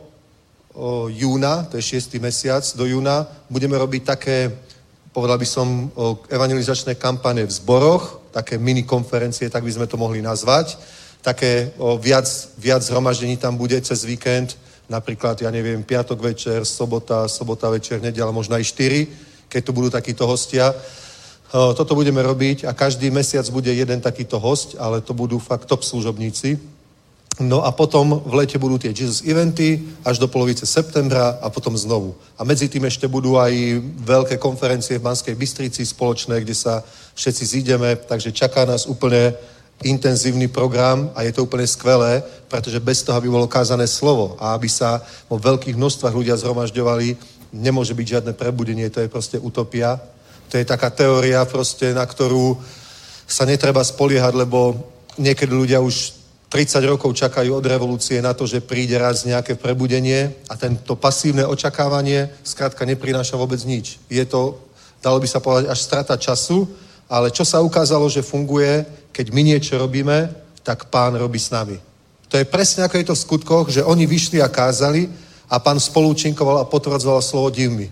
júna, to je 6. mesiac, do júna, budeme robiť také, povedal by som, evangelizačné kampane v zboroch, také mini-konferencie, tak by sme to mohli nazvať. Také viac zhromaždení tam bude cez víkend, napríklad, ja neviem, piatok večer, sobota večer, nedeľa, možno aj 4, keď tu budú takíto hostia. Toto budeme robiť a každý mesiac bude jeden takýto host, ale to budú fakt top služobníci. No a potom v lete budú tie Jesus eventy až do polovice septembra a potom znovu. A medzi tým ešte budú aj veľké konferencie v Banskej Bystrici spoločné, kde sa všetci zídeme, takže čaká nás úplne intenzívny program a je to úplne skvelé, pretože bez toho, aby bolo kázané slovo a aby sa vo veľkých množstvách ľudia zhromažďovali, nemôže byť žiadne prebudenie, to je proste utopia. To je taká teória proste, na ktorú sa netreba spoliehať, lebo niekedy ľudia už 30 rokov čakajú od revolúcie na to, že príde raz nejaké prebudenie a tento pasívne očakávanie skrátka neprináša vôbec nič. Je to, dalo by sa povedať, až strata času, ale čo sa ukázalo, že funguje, keď my niečo robíme, tak Pán robí s nami. To je presne ako je to v skutkoch, že oni vyšli a kázali a Pán spolúčinkoval a potvrdzoval slovo divmi.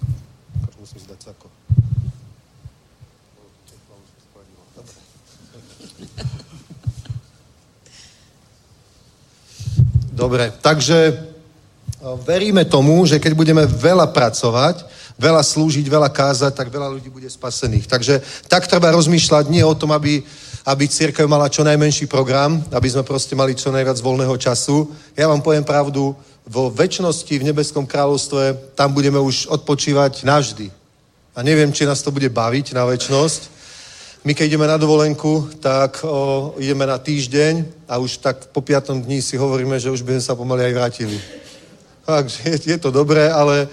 Dobre, takže veríme tomu, že keď budeme veľa pracovať, veľa slúžiť, veľa kázať, tak veľa ľudí bude spasených. Takže tak treba rozmýšľať nie o tom, aby cirkev mala čo najmenší program, aby sme proste mali čo najviac voľného času. Ja vám poviem pravdu, vo večnosti, v nebeskom kráľovstve, tam budeme už odpočívať navždy. A neviem, či nás to bude baviť na večnosť. My, keď ideme na dovolenku, tak ideme na týždeň a už tak po 5. dni si hovoríme, že už by sme sa pomaly aj vrátili. Takže je to dobré, ale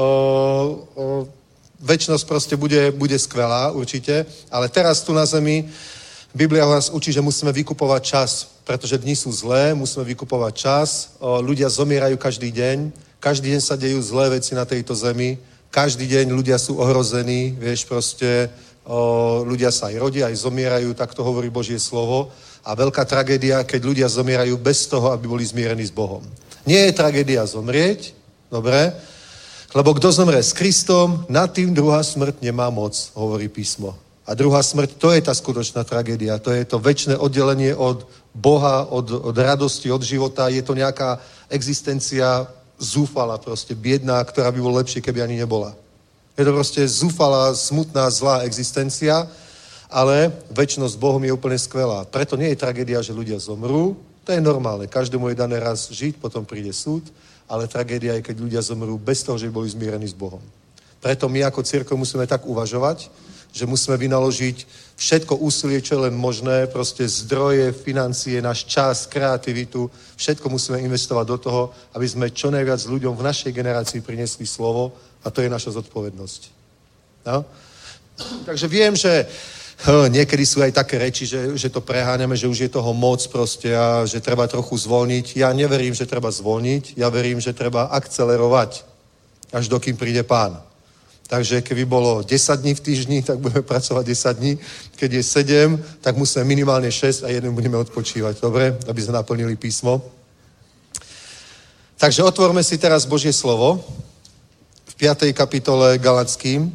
večnosť proste bude skvelá určite. Ale teraz tu na zemi Biblia nás učí, že musíme vykupovať čas, pretože dni sú zlé, musíme vykupovať čas. Ľudia zomierajú každý deň sa dejú zlé veci na tejto zemi, každý deň ľudia sú ohrození, vieš, proste ľudia sa aj rodia, aj zomierajú, tak to hovorí Božie slovo. A veľká tragédia, keď ľudia zomierajú bez toho, aby boli zmierení s Bohom. Nie je tragédia zomrieť, dobre, lebo kto zomrie s Kristom, nad tým druhá smrť nemá moc, hovorí písmo. A druhá smrť, to je tá skutočná tragédia, to je to večné oddelenie od Boha, od radosti, od života, je to nejaká existencia zúfala, proste biedná, ktorá by bola lepšie, keby ani nebola. Je to proste zúfalá, smutná, zlá existencia, ale večnosť s Bohom je úplne skvelá. Preto nie je tragédia, že ľudia zomrú, to je normálne, každému je dané raz žiť, potom príde súd, ale tragédia je, keď ľudia zomrú bez toho, že by boli zmierení s Bohom. Preto my ako cirkev musíme tak uvažovať, že musíme vynaložiť všetko úsilie, čo je len možné, proste zdroje, financie, náš čas, kreativitu, všetko musíme investovať do toho, aby sme čo najviac ľuďom v našej generácii priniesli slovo a to je naša zodpovednosť. No? Takže viem, že Niekedy sú aj také reči, že to preháňame, že už je toho moc proste a že treba trochu zvolniť. Ja neverím, že treba zvolniť, ja verím, že treba akcelerovať, až dokým príde Pán. Takže keby bolo 10 dní v týždni, tak budeme pracovať 10 dní. Keď je 7, tak musíme minimálne 6 a jeden budeme odpočívať. Dobre? Aby sme naplnili písmo. Takže otvorme si teraz Božie slovo v 5. kapitole Galatským,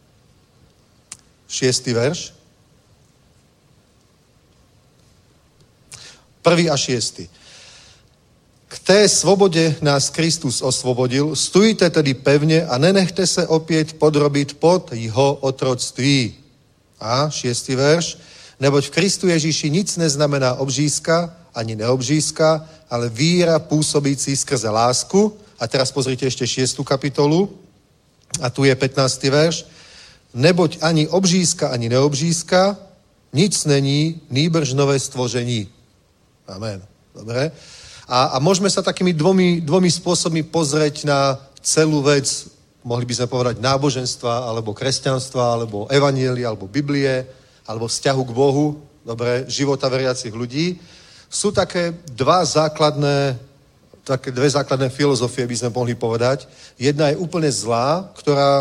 6. verš. 1. a 6. K té svobodě nás Kristus osvobodil, stůjte tedy pevně a nenechte se opět podrobit pod jeho otroctví. A 6. verš. Neboť v Kristu Ježíši nic neznamená obřízka ani neobřízka, ale víra působící skrze lásku. A teraz pozrite ešte 6. kapitolu. A tu je 15. verš. Neboť ani obřízka, ani neobřízka, nic není, nýbrž nové stvoření. Amen. Dobre. A môžeme sa takými dvomi spôsobmi pozrieť na celú vec, mohli by sme povedať náboženstva, alebo kresťanstva, alebo evanjelia, alebo Biblie, alebo vzťahu k Bohu, dobre, života veriacich ľudí. Sú také dve základné filozofie, by sme mohli povedať. Jedna je úplne zlá, ktorá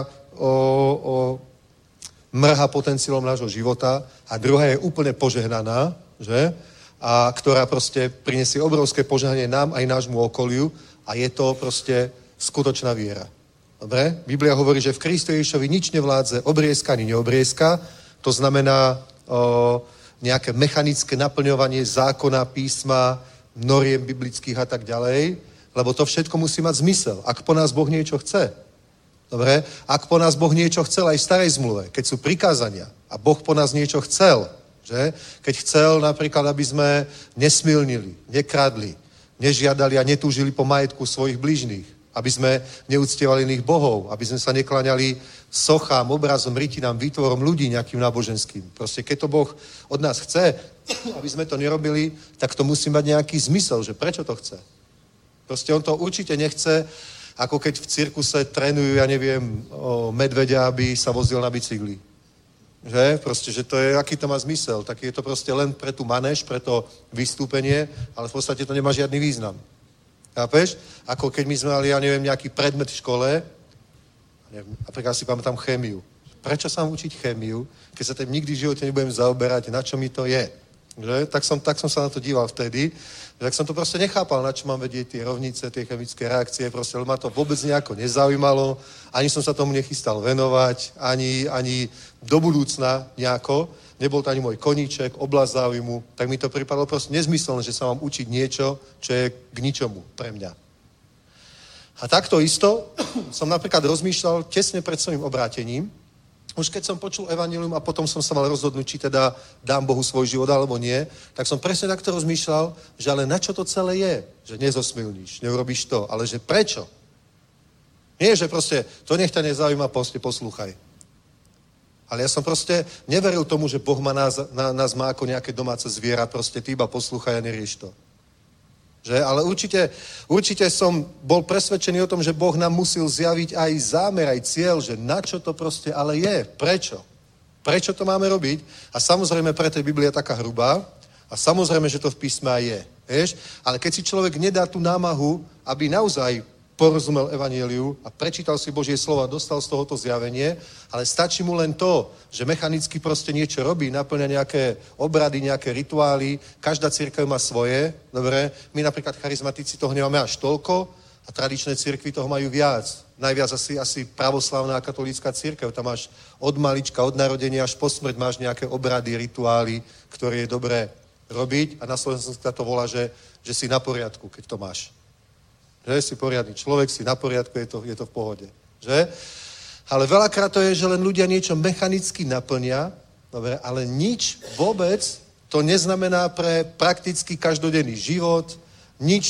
mrhá potenciálom nášho života, a druhá je úplne požehnaná, že? A ktorá proste prinesie obrovské požehnanie nám aj nášmu okoliu, a je to proste skutočná viera. Dobre? Biblia hovorí, že v Kristu Ježišovi nič nevládze obriezka ani neobriezka. To znamená nejaké mechanické naplňovanie zákona, písma, noriem biblických a tak ďalej, lebo to všetko musí mať zmysel. Ak po nás Boh niečo chce. Dobre? Ak po nás Boh niečo chcel aj v starej zmluve, keď sú prikázania a Boh po nás niečo chcel, že? Keď chcel napríklad, aby sme nesmilnili, nekradli, nežiadali a netúžili po majetku svojich blížnych, aby sme neúctievali iných bohov, aby sme sa nekláňali sochám, obrazom, rytinám, výtvorom ľudí nejakým náboženským. Proste keď to Boh od nás chce, aby sme to nerobili, tak to musí mať nejaký zmysel, že prečo to chce. Proste on to určite nechce, ako keď v cirkuse trénujú, ja neviem, medveďa, aby sa vozil na bicykli. Že? Proste, že to je, aký to má zmysel. Tak je to proste len pre tú manéž, pre to vystúpenie, ale v podstate to nemá žiadny význam. Chápeš? Ako keď my sme mali, ja neviem, nejaký predmet v škole, napríklad si pamätám chémiu. Prečo sa mám učiť chémiu, keď sa tým nikdy v živote nebudem zaoberať, na čo mi to je? Že? Tak som sa na to díval vtedy, tak som to proste nechápal, na čo mám vedieť tie rovnice, tie chemické reakcie, proste ma to vôbec nejako nezaujímalo, ani som sa tomu nechystal venovať, ani do budúcna nejako, nebol to ani môj koníček, oblasť záujmu, tak mi to pripadlo proste nezmyselné, že sa mám učiť niečo, čo je k ničomu pre mňa. A takto isto som napríklad rozmýšľal tesne pred svojím obrátením, už keď som počul evanjelium a potom som sa mal rozhodnúť, či teda dám Bohu svoj život alebo nie, tak som presne takto rozmýšľal, že ale na čo to celé je? Že nezosmilníš, neurobíš to, ale že prečo? Nie, že proste to nech ťa nezaujíma, proste poslúchaj. Ale ja som proste neveril tomu, že Boh nás má ako nejaké domáce zviera, proste ty iba poslúchaj a nerieš to. Že? Ale určite som bol presvedčený o tom, že Boh nám musel zjaviť aj zámer, aj cieľ, že na čo to proste ale je, prečo. Prečo to máme robiť? A samozrejme, preto je Biblia taká hrubá a samozrejme, že to v písme aj je. Vieš? Ale keď si človek nedá tú námahu, aby naozaj porozumel evanjeliu a prečítal si Božie slovo a dostal z tohoto zjavenie, ale stačí mu len to, že mechanicky proste niečo robí, naplňa nejaké obrady, nejaké rituály, každá cirkev má svoje, dobre? My napríklad charizmatici toho nemáme až toľko a tradičné cirkvi toho majú viac. Najviac asi pravoslavná katolícka cirkev, tam máš od malička, od narodenia až po smrť máš nejaké obrady, rituály, ktoré je dobré robiť a na Slovensku sa to volá, že si na poriadku, keď to máš. Že si poriadny človek, si na poriadku, je to v pohode. Že? Ale veľakrát to je, že len ľudia niečo mechanicky naplnia, dobre, ale nič vôbec to neznamená pre prakticky každodenný život, nič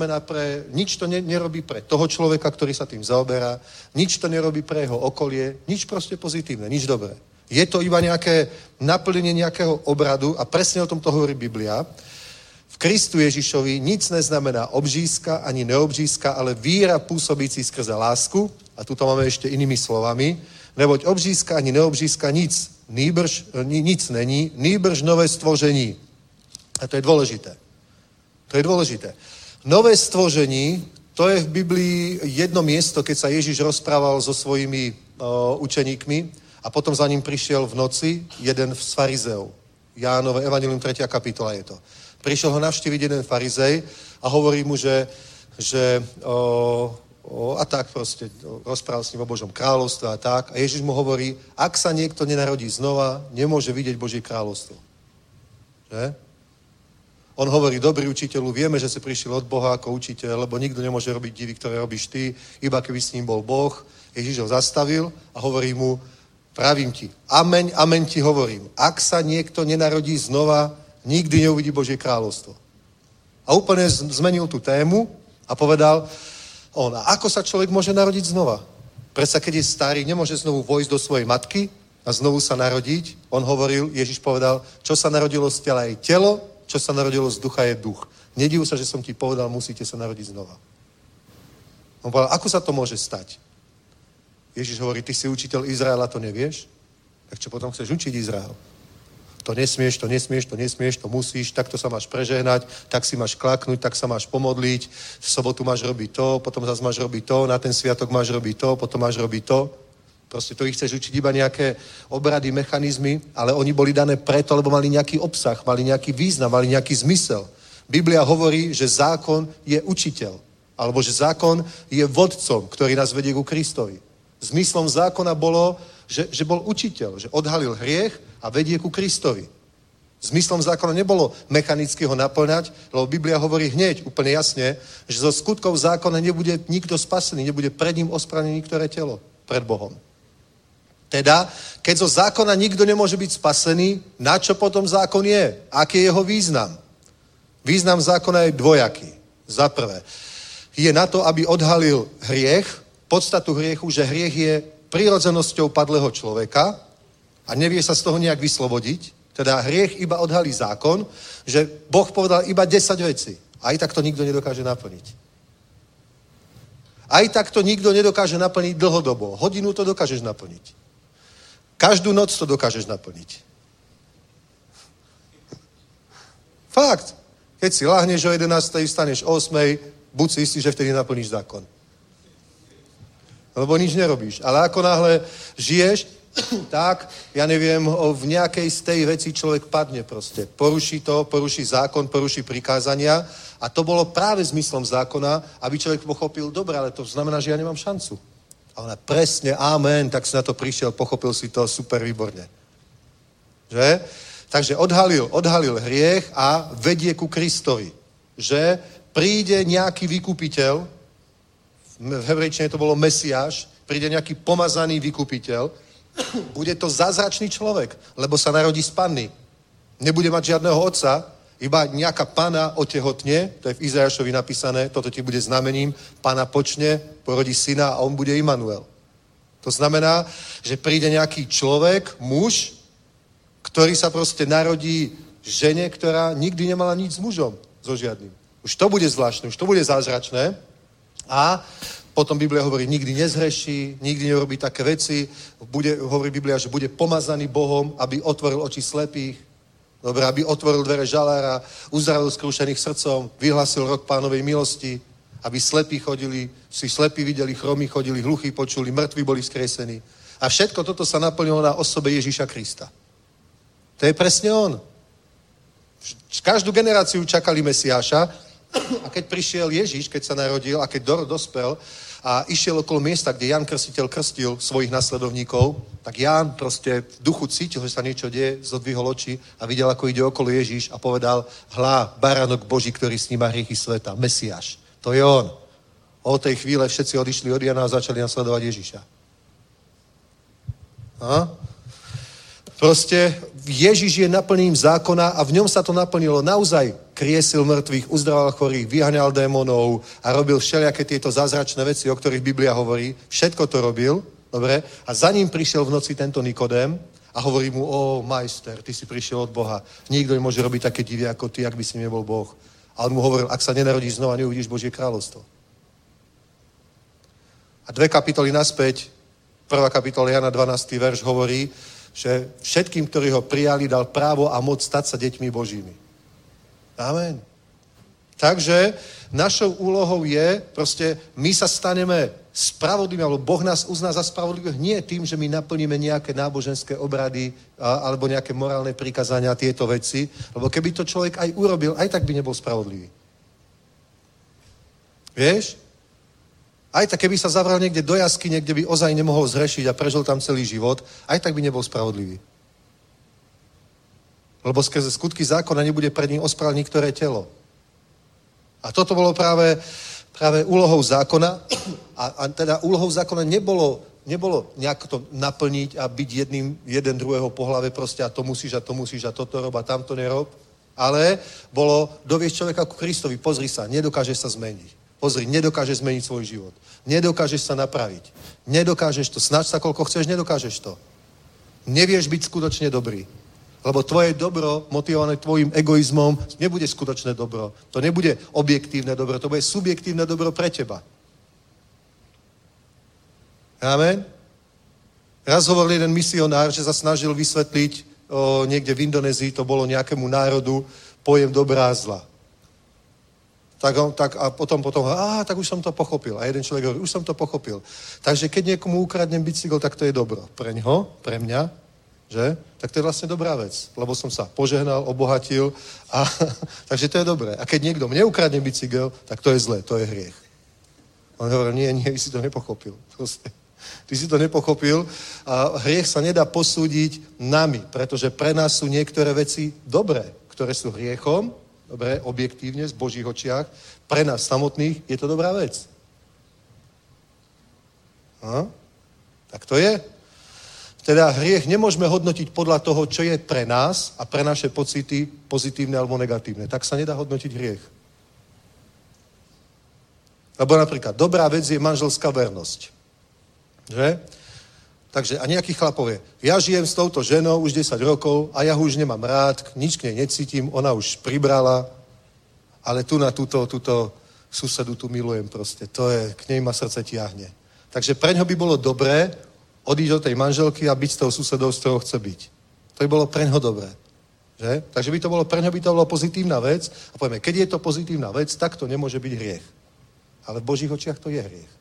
to nerobí pre toho človeka, ktorý sa tým zaoberá, nič to nerobí pre jeho okolie, nič proste pozitívne, nič dobré. Je to iba nejaké naplnenie nejakého obradu a presne o tom to hovorí Biblia. V Kristu Ježišovi nic neznamená obřízka ani neobřízka, ale víra pôsobící skrze lásku. A tu to máme ešte inými slovami, Neboť obřízka ani neobřízka nic není, nýbrž nové stvoření. A to je dôležité. To je dôležité. Nové stvoření, to je v Biblii jedno miesto, keď sa Ježiš rozprával so svojimi učeníkmi a potom za ním prišiel v noci jeden z farizeov. Jánové Evangelium 3. kapitola je to. Prišiel ho navštíviť jeden farizej a hovorí mu, že a tak proste rozprával s ním o Božom kráľovstve a tak. A Ježiš mu hovorí, ak sa niekto nenarodí znova, nemôže vidieť Božie kráľovstvo. Že? On hovorí, dobrý učiteľu, vieme, že si prišiel od Boha ako učiteľ, lebo nikto nemôže robiť divy, ktoré robíš ty, iba keby s ním bol Boh. Ježiš ho zastavil a hovorí mu, pravím ti, ameň, ameň ti hovorím, ak sa niekto nenarodí znova, nikdy neuvidí Božie kráľovstvo. A úplne zmenil tú tému a povedal, a ako sa človek môže narodiť znova? Predsa keď je starý, nemôže znovu vojsť do svojej matky a znovu sa narodiť. On hovoril, Ježiš povedal, čo sa narodilo z tela je telo, čo sa narodilo z ducha je duch. Nediv sa, že som ti povedal, musíte sa narodiť znova. On povedal, ako sa to môže stať? Ježiš hovorí, ty si učiteľ Izraela, to nevieš? Tak čo potom chceš učiť Izrael? To nesmieš, to musíš, takto sa máš prežehnať, tak si máš klaknúť, tak sa máš pomodliť, v sobotu máš robiť to, potom zase máš robiť to, na ten sviatok máš robiť to, potom máš robiť to. Proste to ich chceš učiť iba nejaké obrady, mechanizmy, ale oni boli dané preto, lebo mali nejaký obsah, mali nejaký význam, mali nejaký zmysel. Biblia hovorí, že zákon je učiteľ, alebo že zákon je vodcom, ktorý nás vedie ku Kristovi. Zmyslom zákona bolo, že bol učiteľ, že odhalil hriech a vedie ku Kristovi. Zmyslom zákona nebolo mechanicky ho naplňať, lebo Biblia hovorí hneď, úplne jasne, že zo skutkov zákona nebude nikto spasený, nebude pred ním ospravedlnené ktoré telo pred Bohom. Teda, keď zo zákona nikto nemôže byť spasený, na čo potom zákon je? Aký je jeho význam? Význam zákona je dvojaký. Za prvé, je na to, aby odhalil hriech, podstatu hriechu, že hriech je prirodzenosťou padlého človeka a nevie sa z toho nejak vyslobodiť. Teda hriech iba odhalí zákon, že Boh povedal iba 10 vecí. Aj tak to nikto nedokáže naplniť. Aj tak to nikto nedokáže naplniť dlhodobo. Hodinu to dokážeš naplniť. Každú noc to dokážeš naplniť. Fakt. Keď si láhneš o 11, vstaneš o 8, buď si istý, že vtedy naplníš zákon. Lebo nič nerobíš. Ale ako náhle žiješ, tak, ja neviem, v nejakej z tej veci človek padne proste. Poruší to, poruší zákon, poruší prikázania a to bolo práve zmyslom zákona, aby človek pochopil, dobre, ale to znamená, že ja nemám šancu. A ona presne, amen, tak si na to prišiel, pochopil si to super výborne. Že? Takže odhalil hriech a vedie ku Kristovi. Že príde nejaký vykupiteľ, v hebrejčine to bolo Mesiáš, príde nejaký pomazaný vykupiteľ, bude to zázračný človek, lebo sa narodí z panny. Nebude mať žiadneho otca, iba nejaká panna otehotne, to je v Izajašovi napísané, toto ti bude znamením, panna počne, porodí syna a on bude Imanuel. To znamená, že príde nejaký človek, muž, ktorý sa proste narodí žene, ktorá nikdy nemala nič s mužom, so žiadnym. Už to bude zvláštne, už to bude zázračné a potom Biblia hovorí, nikdy nezhreší, nikdy nerobí také veci. Hovorí Biblia, že bude pomazaný Bohom, aby otvoril oči slepých, dobre, aby otvoril dvere žalára, uzdravil skrúšených srdcom, vyhlásil rok Pánovej milosti, aby slepí chodili, si slepí videli, chromí chodili, hluchí počuli, mŕtvi boli skresení. A všetko toto sa naplnilo na osobe Ježíša Krista. To je presne on. Každú generáciu čakali Mesiáša, a keď prišiel Ježiš, keď sa narodil a keď dospel a išiel okolo miesta, kde Ján Krstiteľ krstil svojich nasledovníkov, tak Ján proste v duchu cítil, že sa niečo deje, zodvihol oči a videl, ako ide okolo Ježiš a povedal, hlá, baránok Boží, ktorý sníma hriechy sveta, Mesiáš. To je on. Od tej chvíle všetci odišli od Jana a začali nasledovať Ježiša. Proste Ježiš je naplnením zákona a v ňom sa to naplnilo. Naozaj kriesil mŕtvych, uzdravoval chorých, vyháňal démonov a robil všelijaké tieto zázračné veci, o ktorých Biblia hovorí. Všetko to robil, dobre? A za ním prišiel v noci tento Nikodém a hovorí mu, majster, ty si prišiel od Boha. Nikto nemôže robiť také divy ako ty, ak by si nebol Boh. A on mu hovoril, ak sa nenarodíš znova, neuvidíš Božie kráľovstvo. A 2 kapitoly naspäť 1. kapitola Jana 12. verš hovorí, že všetkým, ktorí ho prijali, dal právo a moc stať sa deťmi Božími. Amen. Takže našou úlohou je, proste my sa staneme spravodlivými, alebo Boh nás uzná za spravodlivých nie tým, že my naplníme nejaké náboženské obrady alebo nejaké morálne prikazania a tieto veci, lebo keby to človek aj urobil, aj tak by nebol spravodlivý. Vieš? Aj tak, keby sa zavral niekde do jaskyne, kde by ozaj nemohol zhrešiť a prežil tam celý život, aj tak by nebol spravodlivý. Lebo skrze skutky zákona nebude pred ním ospravedlniť ktoré telo. A toto bolo práve úlohou zákona a teda úlohou zákona nebolo nejak to naplniť a byť jeden druhého po hlave proste a to musíš a toto rob a tamto nerob, ale bolo doviesť človeka ku Kristovi. Pozri sa, nedokážeš sa zmeniť. Pozri, nedokážeš zmeniť svoj život. Nedokážeš sa napraviť. Nedokážeš to. Snaž sa, koľko chceš, nedokážeš to. Nevieš byť skutočne dobrý. Lebo tvoje dobro, motivované tvojim egoizmom, nebude skutočné dobro. To nebude objektívne dobro, to bude subjektívne dobro pre teba. Amen? Raz hovoril jeden misionár, že sa snažil vysvetliť niekde v Indonézii, to bolo nejakému národu, pojem dobrá a zla. Tak a potom, tak už som to pochopil. A jeden človek hovorí, už som to pochopil. Takže keď niekomu ukradnem bicykel, tak to je dobro. Pre ňoho, pre mňa, že? Tak to je vlastne dobrá vec, lebo som sa požehnal, obohatil a takže to je dobré. A keď niekto mne ukradne bicykel, tak to je zlé, to je hriech. On hovorí, nie, vy si to nepochopil. Ty si to nepochopil a hriech sa nedá posúdiť nami, pretože pre nás sú niektoré veci dobré, ktoré sú hriechom, dobre, objektívne, z Božích očiach. Pre nás samotných je to dobrá vec. Tak to je. Teda hriech nemôžeme hodnotiť podľa toho, čo je pre nás a pre naše pocity pozitívne alebo negatívne. Tak sa nedá hodnotiť hriech. Lebo napríklad dobrá vec je manželská vernosť. Že? Takže a nejaký chlap povie, ja žijem s touto ženou už 10 rokov a ja ho už nemám rád, nič k nej necítim, ona už pribrala, ale tu na túto susedu tu milujem proste. To je, k nej ma srdce tiahne. Takže preňho by bolo dobré odísť od tej manželky a byť s tou susedou, s ktorou chce byť. To by bolo preňho dobré. Že? Takže preňho by to bolo pozitívna vec a povieme, keď je to pozitívna vec, tak to nemôže byť hriech. Ale v Božích očiach to je hriech.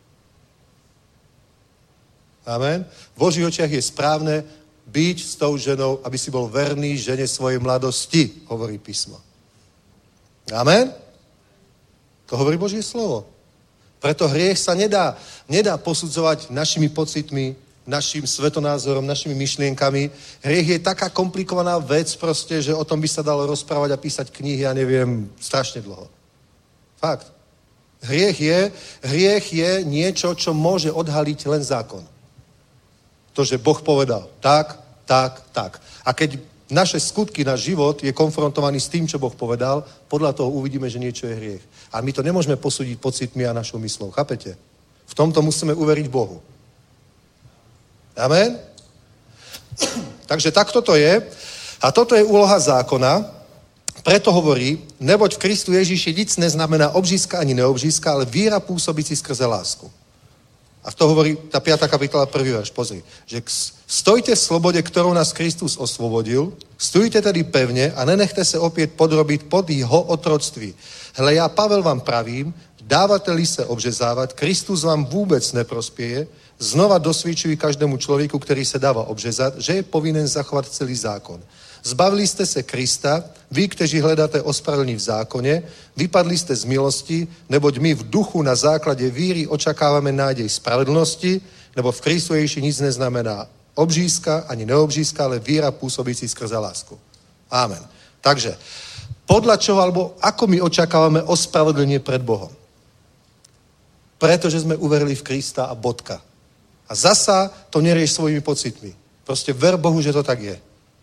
Amen. V Božích očiach je správne byť s tou ženou, aby si bol verný žene svojej mladosti, hovorí písmo. Amen. To hovorí Božie slovo. Preto hriech sa nedá posudzovať našimi pocitmi, našim svetonázorom, našimi myšlienkami. Hriech je taká komplikovaná vec proste, že o tom by sa dalo rozprávať a písať knihy, ja neviem, strašne dlho. Fakt. Hriech je niečo, čo môže odhaliť len zákon. To, že Boh povedal tak. A keď naše skutky, náš život je konfrontovaný s tým, čo Boh povedal, podľa toho uvidíme, že niečo je hriech. A my to nemôžeme posúdiť pocitmi a našou myslou. Chápete? V tomto musíme uveriť Bohu. Amen? Takže takto to je. A toto je úloha zákona. Preto hovorí, neboť v Kristu Ježíši nic neznamená obřízka ani neobřízka, ale víra pôsobíci skrze lásku. A to hovorí tá 5. kapitola 1. verš. Pozri, že stojte v slobode, ktorou nás Kristus osvobodil, stojte tedy pevne a nenechte se opět podrobiť pod jeho otroctví. Hle, ja Pavel vám pravím, dávate-li se obřezávat, Kristus vám vůbec neprospěje, znova dosvědčují každému člověku, který se dává obřezat, že je povinen zachovat celý zákon. Zbavili ste se Krista, vy, kteří hledáte ospravedlnění v zákoně, vypadli ste z milosti, neboť my v duchu na základě víry očakáváme nádej spravedlnosti, nebo v Kristu Ježíši nic neznamená obřízka ani neobřízka, ale víra působící skrze lásku. Amen. Takže, podľa čoho, alebo ako my očakávame ospravedlnenie pred Bohom? Pretože sme uverili v Krista a bodka. A zasa to nerieš svojimi pocitmi. Proste ver Bohu, že to tak je.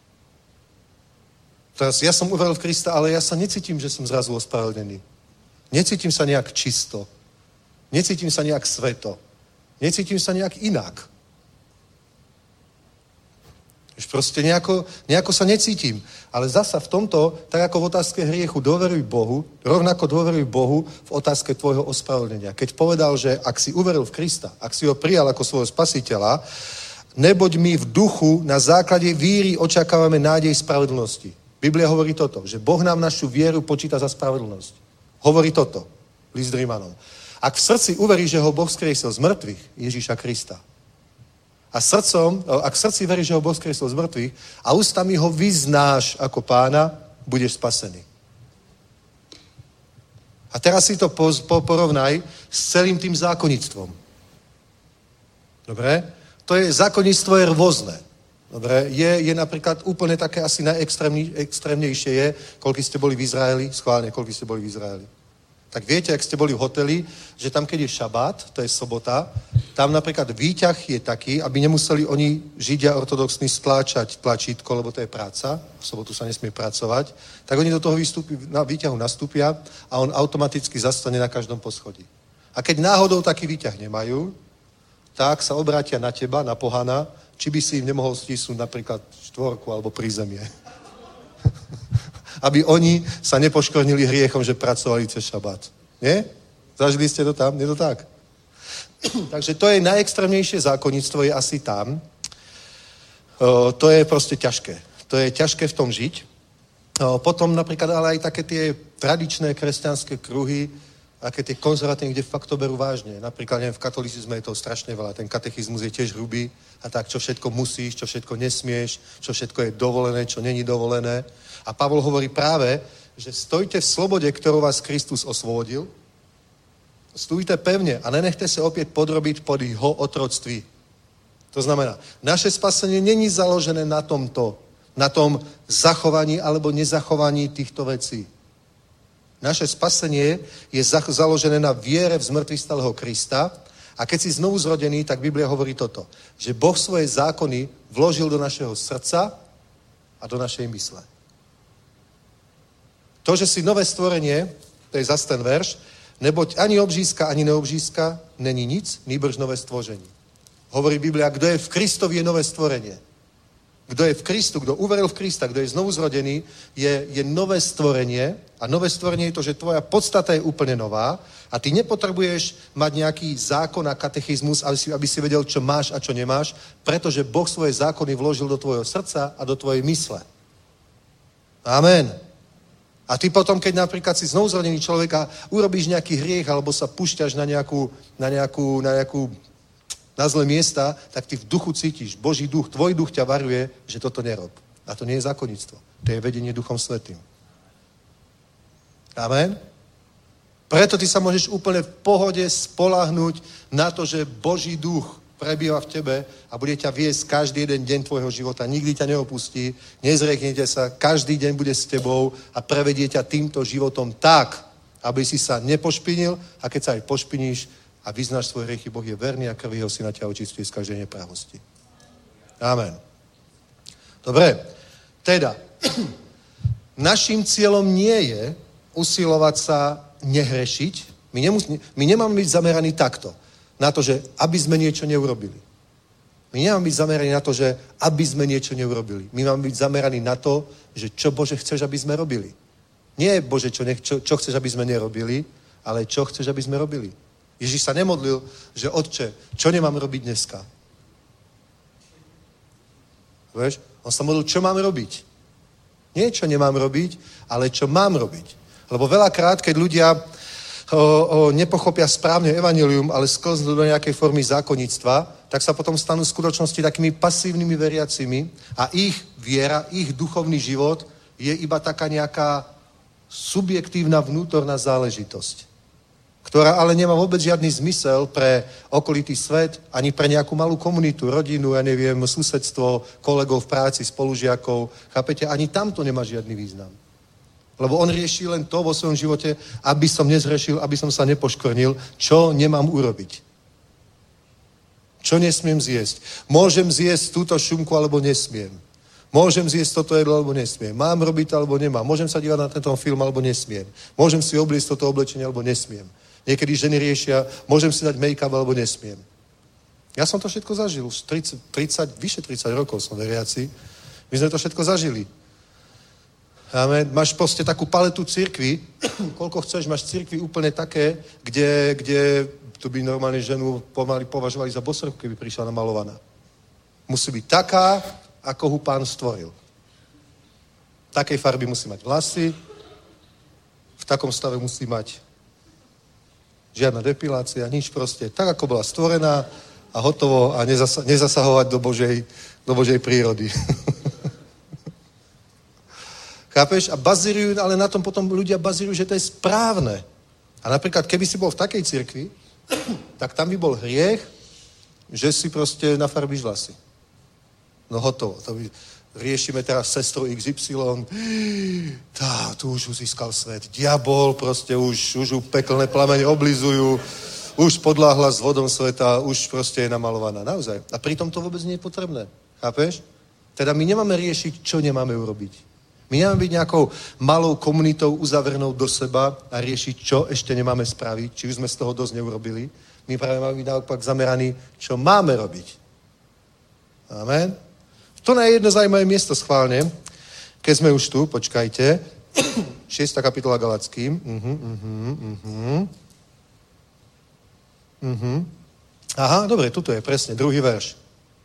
Teraz ja som uveril v Krista, ale ja sa necítim, že som zrazu ospravedlnený. Necítim sa nejak čisto. Necítim sa nejak sveto. Necítim sa nejak inak. Už proste nejako sa necítim. Ale zasa v tomto, tak ako v otázke hriechu, dôveruj Bohu, rovnako dôveruj Bohu v otázke tvojho ospravedlnenia. Keď povedal, že ak si uveril v Krista, ak si ho prijal ako svojho spasiteľa, neboť my v duchu na základe víry očakávame nádej spravedlnosti. Biblia hovorí toto, že Boh nám našu vieru počíta za spravedlnosť. Hovorí toto, list Rímanom. Ak v srdci uveríš, že ho Boh skriesil z mŕtvych, Ježíša Krista, a ak v srdci veríš, že ho Boh skriesil z mŕtvych a ústami ho vyznáš ako pána, budeš spasený. A teraz si to porovnaj s celým tým zákonnictvom. Dobre? To je zákonnictvo je rôzne. Dobre? Je napríklad úplne také asi najextrémnejšie je, koľko ste boli v Izraeli, schválne, koľko ste boli v Izraeli. Tak viete, ak ste boli v hoteli, že tam, keď je šabát, to je sobota, tam napríklad výťah je taký, aby nemuseli oni Židia ortodoxní stláčať tlačítko, lebo to je práca, v sobotu sa nesmie pracovať, tak oni do toho výťahu nastúpia a on automaticky zastane na každom poschodí. A keď náhodou taký výťah nemajú, tak sa obrátia na teba, na pohana, či by si im nemohol stisnúť napríklad štvorku alebo prízemie. Aby oni sa nepoškornili hriechom, že pracovali cez šabát. Nie? Zažili ste to tam? Nie to tak? Takže to je najextrémnejšie zákonnictvo, je asi tam. To je proste ťažké. To je ťažké v tom žiť. Potom napríklad ale aj také tie tradičné kresťanské kruhy, aké tie konzervatívne, kde fakt to berú vážne. Napríklad neviem, v katolicizme je to strašne veľa. Ten katechizmus je tiež hrubý a tak, čo všetko musíš, čo všetko nesmieš, čo všetko je dovolené, čo není dovolené. A Pavol hovorí práve, že stojte v slobode, ktorou vás Kristus osvobodil. Stůjte pevne a nenechte sa opäť podrobiť pod jeho otroctví. To znamená, naše spasenie není založené na tomto, na tom zachovaní alebo nezachovaní týchto vecí. Naše spasenie je založené na viere v zmŕtvychvstalého Krista a keď si znovu zrodený, tak Biblia hovorí toto, že Boh svoje zákony vložil do našeho srdca a do našej mysle. To, že si nové stvorenie, to je zas ten verš, neboť ani obřízka, ani neobřízka není nic, nýbrž nové stvoření. Hovorí Biblia, kdo je v Kristovi, je nové stvorenie. Kdo je v Kristu, kdo uveril v Krista, kdo je znovu zrodený, je nové stvorenie a nové stvorenie je to, že tvoja podstata je úplne nová a ty nepotrebuješ mať nejaký zákon a katechizmus, aby si vedel, čo máš a čo nemáš, pretože Boh svoje zákony vložil do tvojho srdca a do tvojej mysle. Amen. A ty potom, keď napríklad si znovu zrodený človek a urobíš nejaký hriech alebo sa púšťaš na zlé miesta, tak ty v duchu cítiš, Boží duch, tvoj duch ťa varuje, že toto nerob. A to nie je zákonnictvo. To je vedenie Duchom Svätým. Amen? Preto ty sa môžeš úplne v pohode spoľahnúť na to, že Boží duch prebýva v tebe a bude ťa viesť každý jeden deň tvojho života. Nikdy ťa neopustí, nezrieknete sa, každý deň bude s tebou a prevedie ťa týmto životom tak, aby si sa nepošpinil a keď sa aj pošpiníš, a vyznáš svoje hriechy, Boh je verný a krv jeho syna ťa očistí z každej neprávosti. Amen. Dobre, teda, naším cieľom nie je usilovať sa nehrešiť. My nemáme byť zameraní takto, na to, že aby sme niečo neurobili. My nemáme byť zameraní na to, že aby sme niečo neurobili. My máme byť zameraní na to, že čo, Bože, chceš, aby sme robili. Nie, Bože, čo chceš, aby sme nerobili, ale čo chceš, aby sme robili. Ježíš sa nemodlil, že Otče, čo nemám robiť dneska? Vieš? On sa modlil, čo mám robiť. Nie, čo nemám robiť, ale čo mám robiť. Lebo veľakrát, keď ľudia nepochopia správne evanjelium, ale sklznú do nejakej formy zákonníctva, tak sa potom stanú v skutočnosti takými pasívnymi veriacimi a ich viera, ich duchovný život je iba taká nejaká subjektívna vnútorná záležitosť, ktorá ale nemá vôbec žiadny zmysel pre okolitý svet, ani pre nejakú malú komunitu, rodinu, ja neviem, susedstvo, kolegov v práci, spolužiakov. Chápete? Ani tam to nemá žiadny význam. Lebo on rieši len to vo svojom živote, aby som nezhrešil, aby som sa nepoškornil, čo nemám urobiť. Čo nesmiem zjesť? Môžem zjesť túto šunku, alebo nesmiem. Môžem zjesť toto jedlo, alebo nesmiem. Mám robiť to, alebo nemám. Môžem sa dívať na tento film, alebo nesmiem. Môžem si obliecť toto oblečenie, alebo nesmiem. Niekedy ženy riešia, môžem si dať make-up, alebo nesmiem. Ja som to všetko zažil. Už vyše 30 rokov som veriaci. My sme to všetko zažili. Amen. Máš proste takú paletu cirkvi, koľko chceš, máš cirkvi úplne také, kde tu by normálne ženu pomaly považovali za bosrku, keby prišla namalovaná. Musí byť taká, ako ho Pán stvoril. Takej farby musí mať vlasy, v takom stave musí mať žiadna depilácia, nič proste. Tak, ako bola stvorená a hotovo a nezasahovať do Božej prírody. Chápeš? A bazírujú, ale na tom potom ľudia bazírujú, že to je správne. A napríklad, keby si bol v takej cirkvi, tak tam by bol hriech, že si proste nafarbíš vlasy. No hotovo. To by... Riešime teraz sestru XY. Tu už získal svet. Diabol, proste už ju peklné plamene oblizujú. Už podláhla s vodom sveta, už proste je namalovaná. Naozaj. A pritom to vôbec nie je potrebné. Chápeš? Teda my nemáme riešiť, čo nemáme urobiť. My nemáme byť nejakou malou komunitou uzavrenou do seba a riešiť, čo ešte nemáme spraviť, či už sme z toho dosť neurobili. My práve máme byť naopak zameraní, čo máme robiť. Amen. To je jedno zaujímavé miesto schválne, keď sme už tu, počkajte. 6. kapitola Galackým. Aha, dobre, tuto je presne, 2. verš.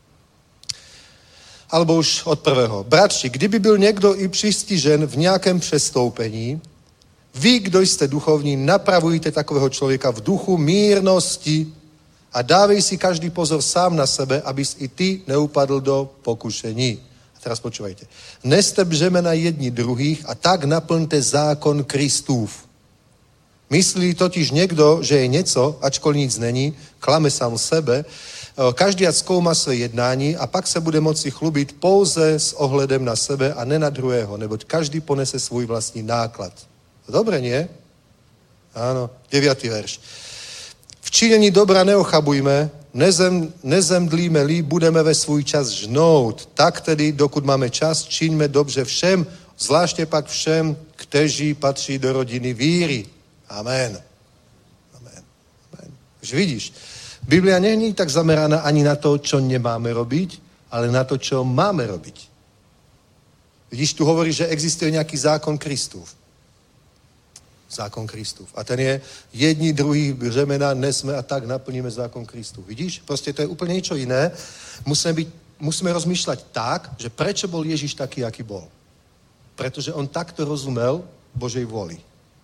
Alebo už od 1. Bratři, kdyby byl někdo i přistižen v nějakém přestoupení, vy, kdo jste duchovní, napravujte takového člověka v duchu mírnosti a dávej si každý pozor sám na sebe, abys i ty neupadl do pokušení. A teraz počúvajte. Neste břemena jedni druhých a tak naplňte zákon Kristův. Myslí totiž někdo, že je něco, ačkoliv nic není, klame sám sebe, každý ať zkoumá své jednání a pak se bude moci chlubit pouze s ohledem na sebe a ne na druhého, neboť každý ponese svůj vlastní náklad. Dobre, nie? Áno, 9. verš. V činění dobra neochabujme, nezemdlíme-li, budeme ve svůj čas žnout. Tak tedy, dokud máme čas, čiňme dobře všem, zvláště pak všem, kteří patří do rodiny víry. Amen. Amen. Amen. Už vidíš, Biblia není tak zameraná ani na to, čo nemáme robiť, ale na to, čo máme robiť. Vidíš, tu hovorí, že existuje nejaký zákon Kristův. Zákon Kristův. A ten je jedni, druhý břemena nesme a tak naplníme zákon Kristův. Vidíš? Proste to je úplne niečo iné. Musíme rozmýšľať tak, že prečo bol Ježiš taký, aký bol. Pretože on takto rozumel Božej vôli.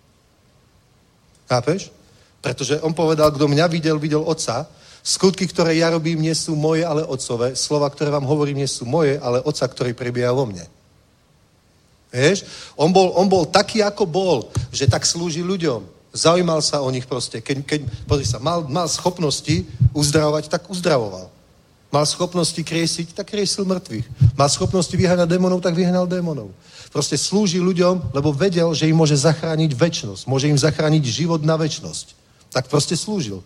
Chápeš? Pretože on povedal, kdo mňa videl, videl Otca. Skutky, ktoré ja robím, nie sú moje, ale Otcové. Slova, ktoré vám hovorím, nie sú moje, ale Otca, ktorý prebieha vo mne. Vieš? On bol taký, ako bol, že tak slúži ľuďom. Zaujímal sa o nich proste. Pozri sa, mal schopnosti uzdravovať, tak uzdravoval. Mal schopnosti kriesiť, tak kriesil mŕtvych. Mal schopnosti vyháňať démonov, tak vyháňal démonov. Proste slúži ľuďom, lebo vedel, že im môže zachrániť večnosť. Môže im zachrániť život na večnosť. Tak proste slúžil.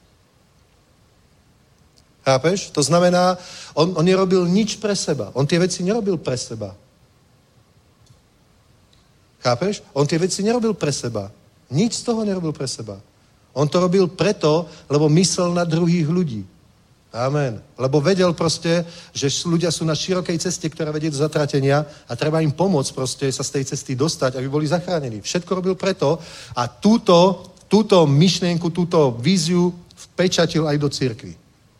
Chápeš? To znamená, on nerobil nič pre seba. On tie veci nerobil pre seba. Chápeš? On tie veci nerobil pre seba. Nič z toho nerobil pre seba. On to robil preto, lebo myslel na druhých ľudí. Amen. Lebo vedel proste, že ľudia sú na širokej ceste, ktorá vedie do zatratenia a treba im pomôcť proste sa z tej cesty dostať, aby boli zachránení. Všetko robil preto a túto myšlienku, túto víziu vpečatil aj do cirkvi.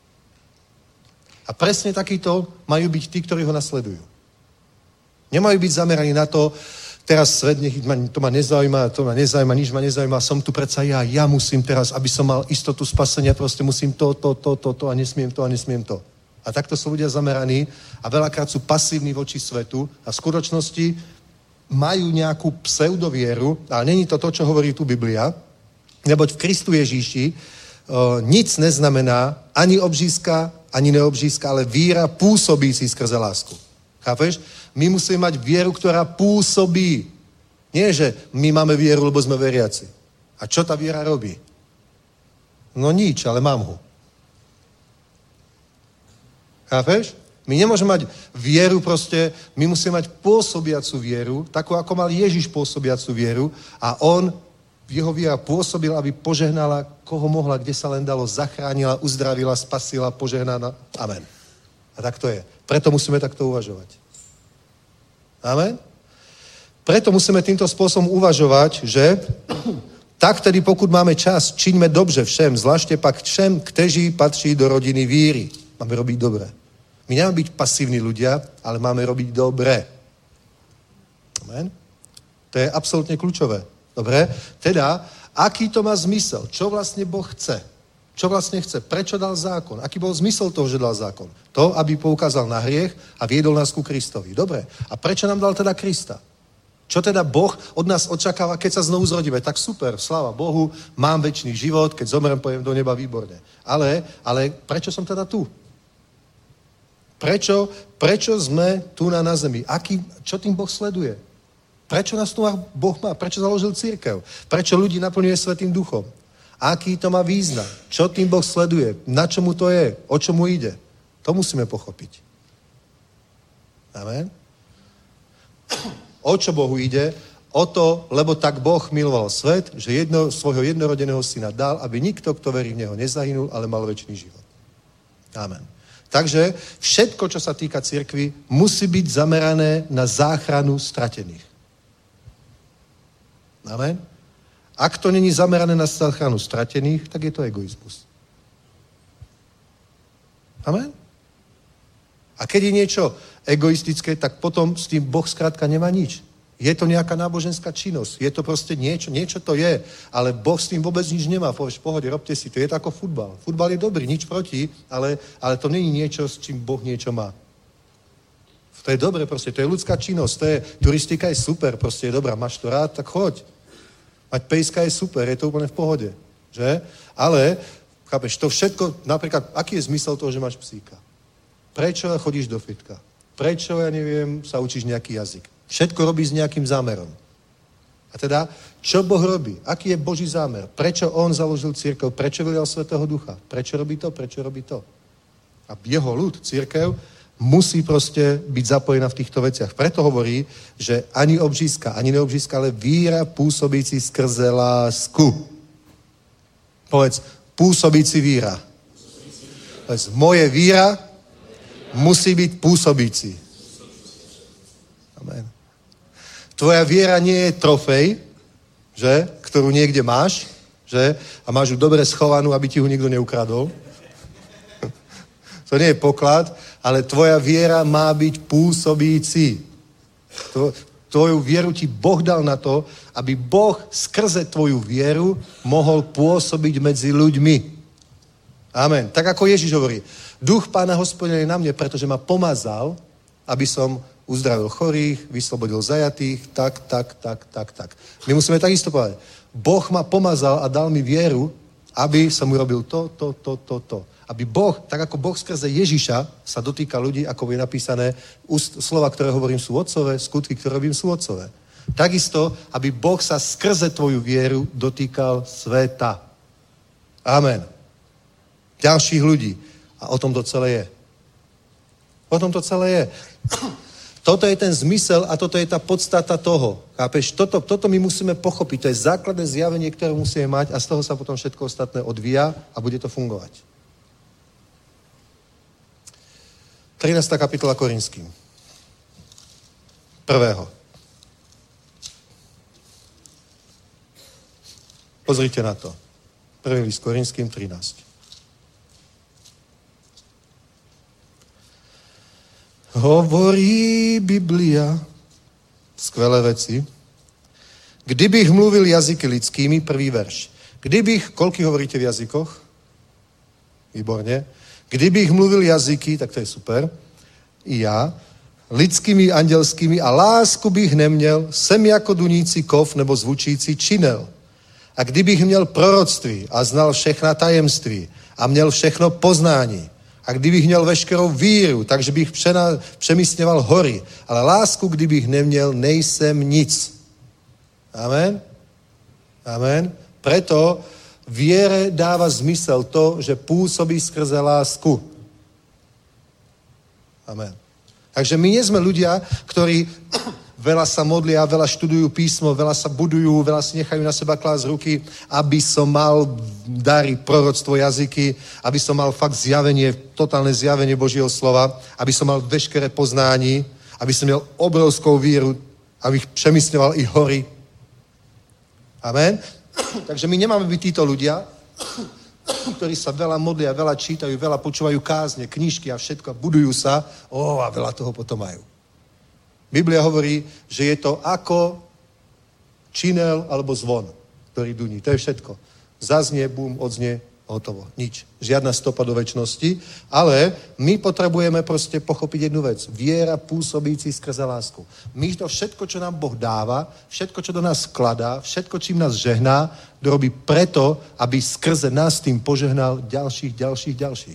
A presne takýto majú byť tí, ktorí ho nasledujú. Nemajú byť zameraní na to, teraz svet, to ma nezaujíma, nič ma nezaujíma, som tu predsa ja musím teraz, aby som mal istotu spasenia, proste musím to a nesmiem to. A takto sú ľudia zameraní a veľakrát sú pasívni voči svetu a v skutočnosti majú nejakú pseudovieru, ale není to to, čo hovorí tu Biblia, neboť v Kristu Ježíši nic neznamená ani obřízka, ani neobřízka, ale víra pôsobící skrze lásku. Chápeš? My musíme mať vieru, ktorá pôsobí. Nie, že my máme vieru, lebo sme veriaci. A čo tá viera robí? No nič, ale mám ho. Chápeš? My nemôžeme mať vieru proste, my musíme mať pôsobiacu vieru, takú, ako mal Ježiš pôsobiacu vieru a on jeho viera pôsobila, aby požehnala, koho mohla, kde sa len dalo, zachránila, uzdravila, spasila, požehnala. Amen. A tak to je. Preto musíme takto uvažovať. Amen. Preto musíme týmto spôsobom uvažovať, že tak tedy, pokud máme čas, čiňme dobře všem, zvláště pak všem, kteří patří do rodiny víry. Máme robiť dobre. My nemáme byť pasívni ľudia, ale máme robiť dobre. Amen. To je absolútne kľúčové. Dobre? Teda, aký to má zmysel? Čo vlastne Boh chce? Čo vlastne chce? Prečo dal zákon? Aký bol zmysel toho, že dal zákon? To, aby poukázal na hriech a viedol nás ku Kristovi. Dobre. A prečo nám dal teda Krista? Čo teda Boh od nás očakáva, keď sa znovu zrodíme? Tak super, sláva Bohu, mám večný život, keď zomrem, pojem do neba, výborne. Ale prečo som teda tu? Prečo sme tu na zemi? Čo tým Boh sleduje? Prečo nás tu Boh má? Prečo založil cirkev? Prečo ľudí naplňuje Svätým Duchom? Aký to má význam? Čo tým Boh sleduje? Na čomu to je? O čomu ide? To musíme pochopiť. Amen? O čo Bohu ide? O to, lebo tak Boh miloval svet, že svojho jednorodeného syna dal, aby nikto, kto verí v neho, nezahynul, ale mal večný život. Amen. Takže všetko, čo sa týka cirkvi, musí byť zamerané na záchranu stratených. Amen. Ak to není zamerané na záchranu stratených, tak je to egoizmus. Amen. A keď je niečo egoistické, tak potom s tým Boh skrátka nemá nič. Je to nejaká náboženská činnosť. Je to proste niečo to je, ale Boh s tým vôbec nič nemá. Povieš, v pohode, robte si to. Je to ako futbal. Futbal je dobrý, nič proti, ale to není niečo, s čím Boh niečo má. To je dobre, proste, to je ľudská činnosť. Turistika je super, proste je dobrá. Máš to rád, tak choď. Mať pejska je super, je to úplne v pohode. Že? Ale, chápeš, to všetko, napríklad, aký je zmysel toho, že máš psíka? Prečo chodíš do fitka? Prečo, ja neviem, sa učíš nejaký jazyk? Všetko robíš s nejakým zámerom. A teda, čo Boh robí? Aký je Boží zámer? Prečo on založil cirkev? Prečo vylial Svätého Ducha? Prečo robí to? Prečo robí to? A jeho ľud, cirkev, musí proste byť zapojená v týchto veciach. Preto hovorí, že ani obřízka, ani neobřízka, ale víra pôsobící skrze lásku. Povedz, pôsobící víra. Povedz, moje víra musí byť pôsobící. Amen. Tvoja viera nie je trofej, že, ktorú niekde máš, že, a máš ju dobre schovanú, aby ti ju nikto neukradol. To nie je poklad, ale tvoja viera má byť pôsobící. Tvoju vieru ti Boh dal na to, aby Boh skrze tvoju vieru mohol pôsobiť medzi ľuďmi. Amen. Tak ako Ježiš hovorí, Duch Pána Hospodina je na mne, pretože ma pomazal, aby som uzdravil chorých, vyslobodil zajatých, tak. My musíme takisto povedať, Boh ma pomazal a dal mi vieru, aby som urobil to. Aby Boh, tak ako Boh skrze Ježiša sa dotýka ľudí, ako je napísané, slova, ktoré hovorím, sú otcové, skutky, ktoré robím, sú otcové. Takisto, aby Boh sa skrze tvoju vieru dotýkal sveta. Amen. Ďalších ľudí. A o tom to celé je. O tom to celé je. Toto je ten zmysel a toto je tá podstata toho. Chápeš? Toto my musíme pochopiť. To je základné zjavenie, ktoré musíme mať a z toho sa potom všetko ostatné odvíja a bude to fungovať. 13. kapitola Korinským. 1. Pozrite na to. 1. list Korinským 13. Hovorí Biblia skvelé veci. Kdybych mluvil jazyky lidskými, prvý verš. Koľký hovoríte v jazykoch? Výborne. Kdybych mluvil jazyky, tak to je super, i já, lidskými, andělskými a lásku bych neměl, jsem jako dunící kov nebo zvučící činel. A kdybych měl proroctví a znal všechna tajemství a měl všechno poznání, a kdybych měl veškerou víru, takže bych přemístěval hory, ale lásku, kdybych neměl, nejsem nic. Amen? Amen? Preto viere dáva zmysel to, že pôsobí skrze lásku. Amen. Takže my nie sme ľudia, ktorí veľa sa modlia, veľa študujú písmo, veľa sa budujú, veľa si nechajú na seba klásť ruky, aby som mal dary, proroctvo, jazyky, aby som mal fakt zjavenie, totálne zjavenie Božieho slova, aby som mal veškeré poznání, aby som měl obrovskou víru, abych přemysľoval i hory. Amen. Takže my nemáme byť títo ľudia, ktorí sa veľa modlia, veľa čítajú, veľa počúvajú kázne, knižky a všetko, budujú sa, a veľa toho potom majú. Biblia hovorí, že je to ako činel alebo zvon, ktorý duní. To je všetko. Zaznie, bum, odznie, hotovo. Nič. Žiadna stopa do večnosti, ale my potrebujeme proste pochopiť jednu vec. Viera pôsobící skrze lásku. My to všetko, čo nám Boh dáva, všetko, čo do nás skladá, všetko, čím nás žehná, dorobí preto, aby skrze nás tým požehnal ďalších.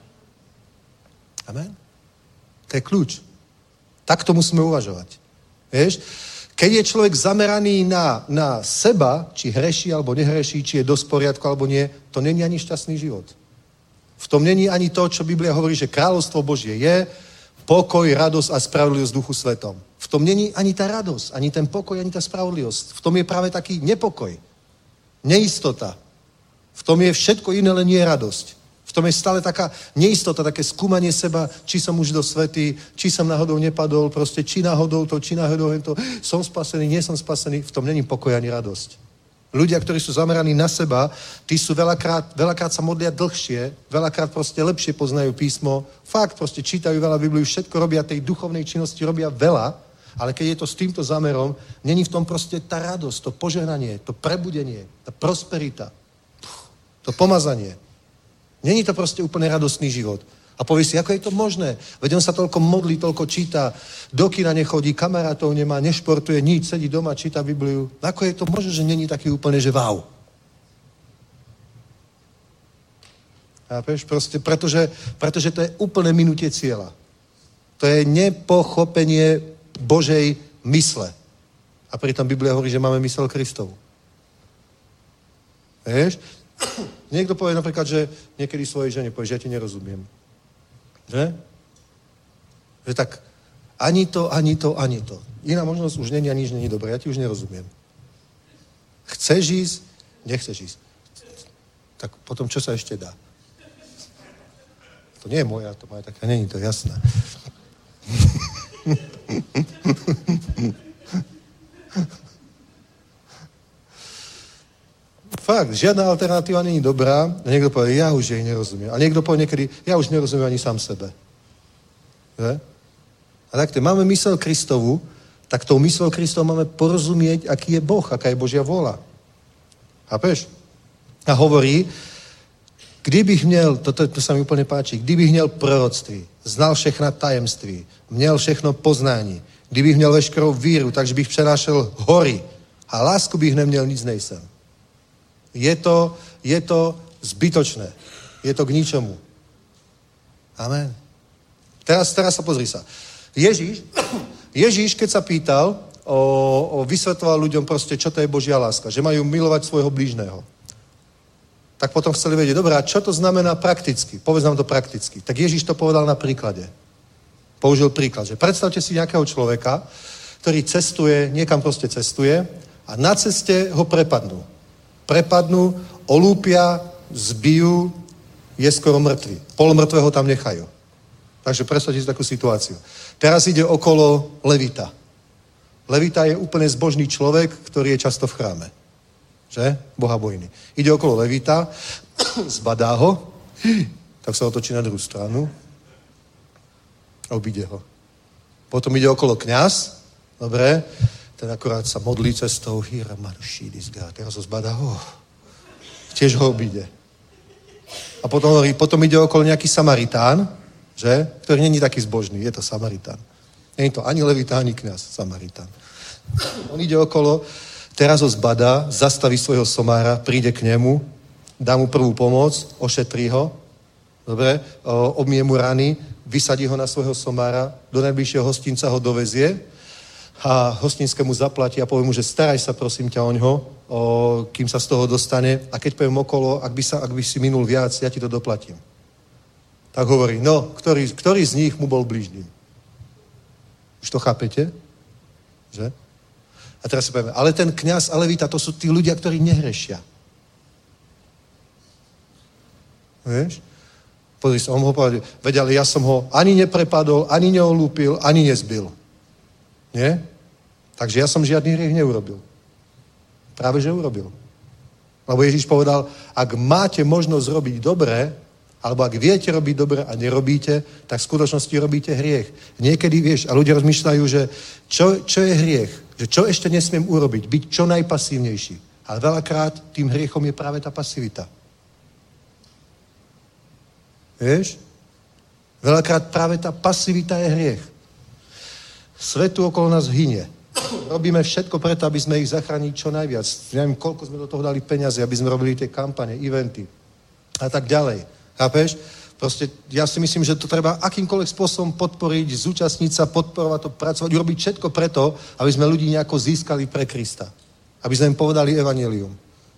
Amen? To je kľúč. Tak to musíme uvažovať. Vieš? Keď je človek zameraný na seba, či hreší alebo nehreší, či je dosť v poriadku alebo nie, to není ani šťastný život. V tom není ani to, čo Biblia hovorí, že kráľovstvo Božie je pokoj, radosť a spravodlivosť v duchu svetom. V tom není ani tá radosť, ani ten pokoj, ani tá spravodlivosť. V tom je práve taký nepokoj, neistota. V tom je všetko iné, len nie radosť. V tom je stále taká neistota, také skúmanie seba, či som už dosť svätý, či som náhodou nepadol, proste či náhodou to, či náhodou to, som spasený, nie som spasený, v tom není pokoj ani radosť. Ľudia, ktorí sú zameraní na seba, tí sú veľakrát sa modlia dlhšie, veľakrát proste lepšie poznajú písmo, fakt proste čítajú veľa Bibliu, všetko robia tej duchovnej činnosti, robia veľa, ale keď je to s týmto zámerom, není v tom proste tá radosť, to požehnanie, to prebudenie, tá prosperita, to pomazanie. Není to proste úplne radostný život. A povie si, ako je to možné? Veď on sa toľko modlí, toľko číta, do kina nechodí, kamarátov nemá, nešportuje, nič, sedí doma, číta Bibliu. Ako je to možné, že není taký úplne, že wow? A proste, pretože to je úplne minutie cieľa. To je nepochopenie Božej mysle. A pritom Biblia hovorí, že máme mysel Kristovu. Vieš? Niekto povie napríklad, že niekedy svojej žene povie, že ja ti nerozumiem. Že? Že tak ani to. Iná možnosť už není a nič není dobré. Ja ti už nerozumiem. Chceš ísť? Nechceš ísť. Tak potom čo sa ešte dá? To nie je moja, to moja taká, není to jasné. Fakt, žiadna alternatíva není dobrá. A niekto povie, ja už jej nerozumiem. A niekto povie niekedy, ja už nerozumiem ani sám sebe. Že? A takto, máme mysel Kristovu, tak tou myslou Kristovu máme porozumieť, aký je Boh, aká je Božia vôľa. Chápeš? A hovorí, kdybych měl, to sa mi úplne páči, kdybych měl proroctví, znal všechna tajemství, měl všechno poznání, kdybych měl veškerou víru, takže bych přenášel hory a lásku bych neměl, nic nejsem. Je to zbytočné. Je to k ničomu. Amen. Teraz sa pozri sa. Ježíš, keď sa pýtal, vysvetloval ľuďom proste, čo to je Božia láska. Že majú milovať svojho blížneho. Tak potom chceli vedieť, dobrá, čo to znamená prakticky? Povedz nám to prakticky. Tak Ježíš to povedal na príklade. Použil príklad, že predstavte si nejakého človeka, ktorý cestuje, niekam proste cestuje a na ceste ho prepadnú, olúpia, zbijú, je skoro mŕtvy. Polomrtvého tam nechajú. Takže predstavte si takú situáciu. Teraz ide okolo levita. Levita je úplne zbožný človek, ktorý je často v chráme. Že? Bohabojný. Ide okolo levita, zbadá ho, tak sa otočí na druhú stranu a obíde ho. Potom ide okolo kňaz, dobre, ten akorát sa modlí cestou, teraz ho zbadá, tiež ho obíde. A potom ide okolo nejaký Samaritán, že? Ktorý není taký zbožný, je to Samaritán. Není to ani levita, ani kňaz, Samaritán. On ide okolo, teraz ho zbadá, zastaví svojho somára, príde k nemu, dá mu prvú pomoc, ošetrí ho, dobre, obmie mu rany, vysadí ho na svojho somára, do najbližšieho hostinca ho dovezie a hostinskému zaplatí a povie mu, že staraj sa prosím ťa oňho, kým sa z toho dostane a keď poviem okolo, ak by si minul viac, ja ti to doplatím. Tak hovorí, ktorý z nich mu bol blížnym? Už to chápete? Že? A teraz si povieme, ale ten kňaz a levita, to sú tí ľudia, ktorí nehrešia. Vieš? Pozri sa, on ho povedal, veď, ale ja som ho ani neprepadol, ani neolúpil, ani nezbil. Nie? Takže ja som žiadny hriech neurobil. Práve, že urobil. Lebo Ježiš povedal, ak máte možnosť robiť dobre, alebo ak viete robiť dobre a nerobíte, tak v skutočnosti robíte hriech. Niekedy, vieš, a ľudia rozmýšľajú, že čo je hriech? Že čo ešte nesmiem urobiť? Byť čo najpasívnejší. Ale veľakrát tým hriechom je práve tá pasivita. Vieš? Veľakrát práve tá pasivita je hriech. Svet tu okolo nás hynie. Robíme všetko preto, aby sme ich zachránili čo najviac. Neviem, koľko sme do toho dali peniaze, aby sme robili tie kampane, eventy a tak ďalej. Chápeš? Proste ja si myslím, že to treba akýmkoľvek spôsobom podporiť, zúčastniť sa, podporovať to, pracovať, urobiť všetko preto, aby sme ľudí nejako získali pre Krista. Aby sme im povedali evanjelium.